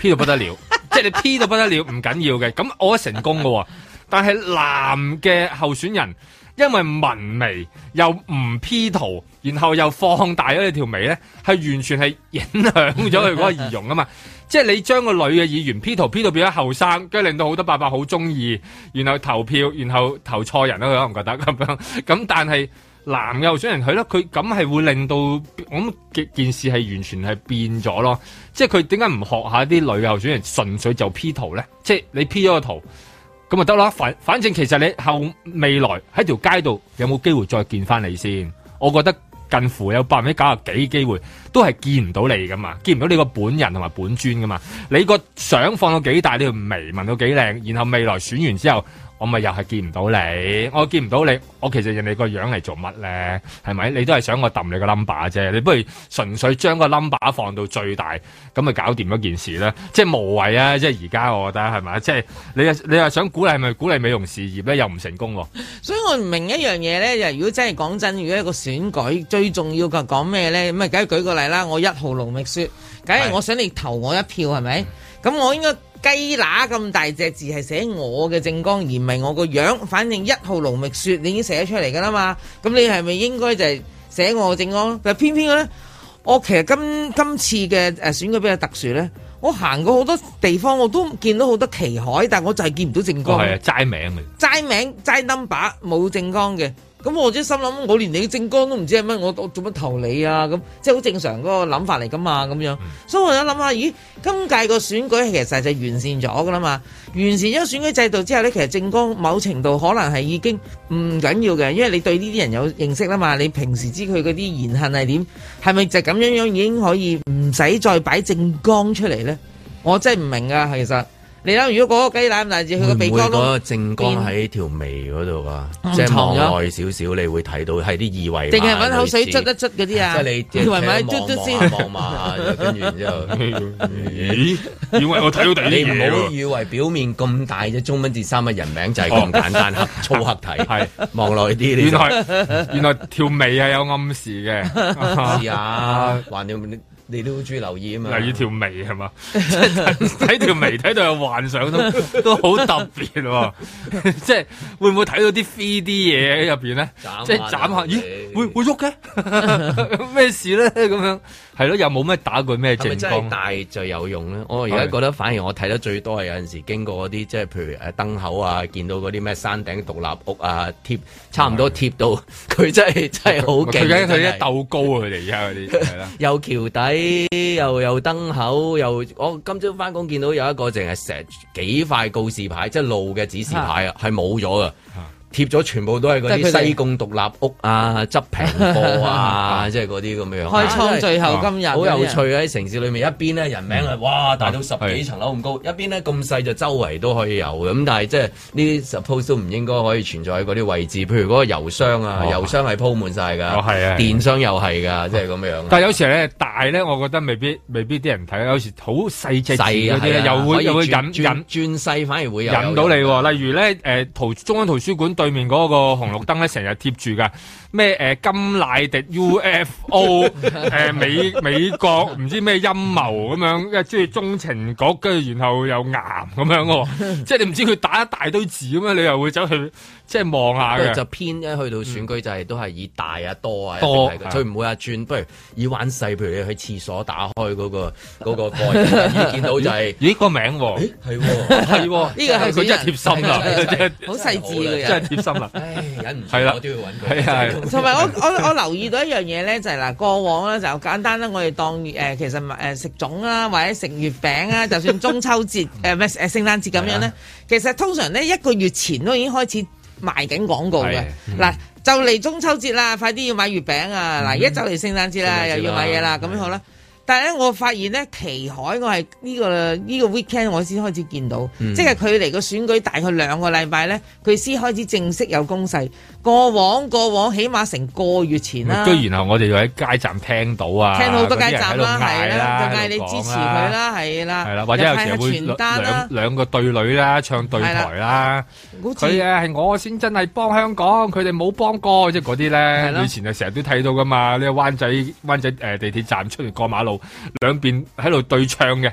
Speaker 3: P 到不得了，即係你 P 到不得了唔緊要嘅，咁我成功嘅，但係男嘅候選人。因為紋眉又唔 P 圖，然後又放大咗你條眉咧，係完全係影響咗佢嗰個儀容啊嘛！即係你將個女嘅議員 P 圖 P 到變咗後生，跟住令到好多伯伯好中意，然後投票，然後投錯人啦，佢可能覺得咁樣。咁但係男嘅候選人佢咧，佢咁係會令到我諗件事係完全係變咗咯。即係佢點解唔學下啲女嘅候選人純粹就 P 圖咧？即係你 P 咗個圖。咁咪得啦，反反正其實你後未來喺條街度有冇機會再見翻你先？我覺得近乎有百分之九十幾機會都係見唔到你噶嘛，見唔到你個本人同埋本尊噶嘛。你個相放到幾大，你條眉紋到幾靚，然後未來選完之後，我咪又係見唔到你，我見唔到你，我其實人哋個樣嚟做乜咧？係咪？你都係想我揼你個 number 啫？你不如純粹將個 number 放到最大，咁咪搞掂嗰件事咧？即係無謂啊！即係而家我覺得係咪？即係你又你又想鼓勵係咪鼓勵美容事業咧？又唔成功喎。
Speaker 4: 所以我唔明一樣嘢咧，就如果真係講真，如果一個選舉最重要嘅講咩咧？咁啊，梗係舉個例啦，我一號盧覓雪，梗係我想你投我一票係咪？咁我應該。雞乸咁大隻字係寫我嘅政綱，而唔係我個樣。反正一號盧覓雪你已經寫得出嚟㗎啦嘛，咁你係咪應該就係寫我嘅政綱？但係偏偏咧，我其實今今次嘅誒選舉比較特殊咧，我行過好多地方，我都見到好多旗海，但我就係見唔到政綱。
Speaker 3: 係啊，齋名嘅，
Speaker 4: 齋名齋 number 冇政綱嘅。咁我即係心諗，我連你嘅政綱都唔知係乜，我我做乜投你啊？咁即係好正常嗰個諗法嚟噶嘛，咁樣。嗯、所以我有諗下，咦，今屆個選舉其實就完善咗噶啦嘛。完善咗選舉制度之後咧，其實政綱某程度可能係已經唔緊要嘅，因為你對呢啲人有認識啦嘛。你平時知佢嗰啲言行係點，係咪就咁樣樣已經可以唔使再擺政綱出嚟咧？我真係唔明啊，其實。你諗，如果嗰個雞蛋咁大隻，佢個鼻哥窿，會唔會嗰個正光喺條眉嗰度啊？即係望耐少少，你會睇到係啲二維碼，定係揾口水捽一捽嗰啲啊？即係你二維碼捽捽先望嘛，跟住然之後，咦？以為我睇到第二啲嘢，你唔好以為表面咁大隻中文字三個人名就係咁簡單，黑粗黑體係望耐啲。原來原來條眉係有暗示嘅，試下還有。你都好中意留意啊嘛，留意條眉係嘛？睇條眉睇到有幻想都都好特別喎，即係會唔會睇到啲 three D 嘢喺入邊咧？即係斬下，咦？會會喐嘅？咩事咧？咁樣係咯，又冇咩打過咩正光？大就有用咧。我而家覺得反而我睇得最多係有陣時經過嗰啲，即係譬如誒燈口啊，見到嗰啲咩山頂獨立屋啊，貼差唔多貼到佢真係真係好勁。佢緊佢一鬥高啊！佢哋而家嗰啲係啦，有橋底。又有燈口，又我今朝翻工見到有一個淨係成幾塊告示牌，即係路嘅指示牌啊，係冇咗噶。貼咗全部都係嗰啲西貢獨立屋啊、執平貨啊，即係嗰啲咁樣。開倉最後今日好有趣喺城市裏面，一邊咧人名啊，哇大到十幾層樓咁高，一邊咧咁細就周圍都可以有嘅。咁但係即係呢啲 suppose 都唔應該可以存在喺嗰啲位置，譬如嗰個郵箱啊，郵箱係鋪滿晒㗎，電商又係㗎，即係咁樣。但係有時咧大咧，我覺得未必未必啲人睇，有時好細隻字嗰啲又會又會引引轉細，反而會有引到你。例如咧誒圖中央圖書館對面嗰個紅綠燈咧，成日貼住噶咩誒甘迺迪 U F O 誒美美國唔知咩陰謀咁樣，即係中情局，跟住然後又癌咁樣喎，即係你唔知佢打一大堆字咁樣，你又會走去即係望下嘅。就偏一去到選舉就係都係以大啊多啊多，佢唔會話轉，不如以玩細，譬如你去廁所打開嗰個嗰個蓋，見到就係咦個名喎，係喎係喎，呢個係佢真係貼心啦，好細緻嘅人，真係貼心啦。唉，忍唔住，我都要揾佢。係係。同埋我我我留意到一樣嘢咧，就係嗱，過往咧就簡單啦，我哋當誒其實誒食粽啊，或者食月餅啊，就算中秋節誒咩誒聖誕節咁樣咧，其實通常咧一個月前都已經開始賣緊廣告嘅。嗱，就嚟中秋節啦，快啲要買月餅啊！嗱，而家就嚟聖誕節啦，又要買嘢啦，咁樣好啦。但係咧，我發現咧，旗海我係呢、這個呢、這個 weekend 我先開始見到，嗯、即係佢離個選舉大概兩個禮拜咧，佢先開始正式有攻勢。過往過往起碼成個月前啦。跟住然後我哋又喺街站聽到啊，聽到好多街站啦，係啦，就嗌你支持佢啦，係啦，係啦，或者有時會兩兩個對壘啦，唱對台啦。佢啊係我先真係幫香港，佢哋冇幫過，即係嗰啲咧。以前就成日都睇到噶嘛，呢個灣仔灣仔誒地鐵站出嚟過馬路。兩邊喺度對唱嘅，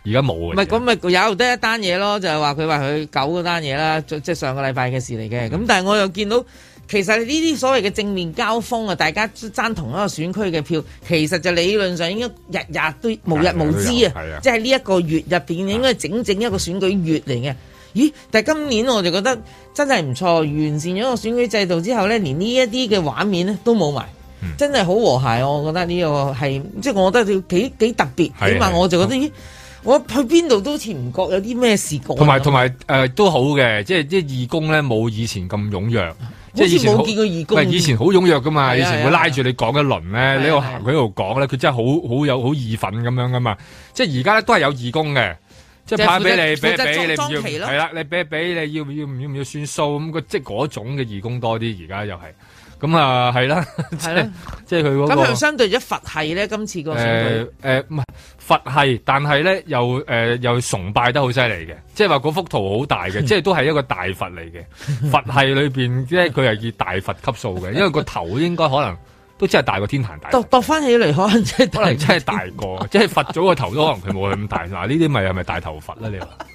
Speaker 3: 而家冇嘅。
Speaker 4: 唔係咁咪有得一單嘢咯，就係話佢話佢九嗰單嘢啦，即係上個禮拜嘅事嚟嘅。咁、嗯、但係我又見到。其實呢啲所謂嘅正面交鋒啊，大家爭同一個選區嘅票，其實就理論上應該日日都無日無之啊！即係呢一個月入邊應該整整一個選舉月嚟嘅。咦？但係今年我就覺得真係唔錯，完善咗個選舉制度之後咧，連呢一啲嘅畫面咧都冇埋，嗯、真係好和諧。我覺得呢個係即係我覺得要幾幾特別，起碼我就覺得咦。我去邊度都好似唔覺有啲咩事過。同
Speaker 3: 埋同埋誒都好嘅，即係即係義工咧冇以前咁踴躍，即係以前
Speaker 4: 冇見過義工。
Speaker 3: 以前好踴躍噶嘛，以前會拉住你講一輪咧，你喺度行佢喺度講咧，佢真係好好有好義憤咁樣噶嘛。即係而家咧都係有義工嘅，即係派俾你，俾俾你唔要，係啦，你俾俾你要要唔要唔要算數咁個，即係嗰種嘅義工多啲。而家又係。咁啊，係啦，係啦，即係佢嗰個。咁佢相對咗佛系咧，今次個選舉誒唔係佛系，但係咧又誒、呃、又崇拜得好犀利嘅，即係話嗰幅圖好大嘅，即係都係一個大佛嚟嘅。佛系裏邊即係佢係以大佛級數嘅，因為個頭應該可能都真係大過天壇大。度度翻起嚟可能真係可能真係大過，即係佛祖個頭都可能佢冇佢咁大。嗱呢啲咪係咪大頭佛咧？你話？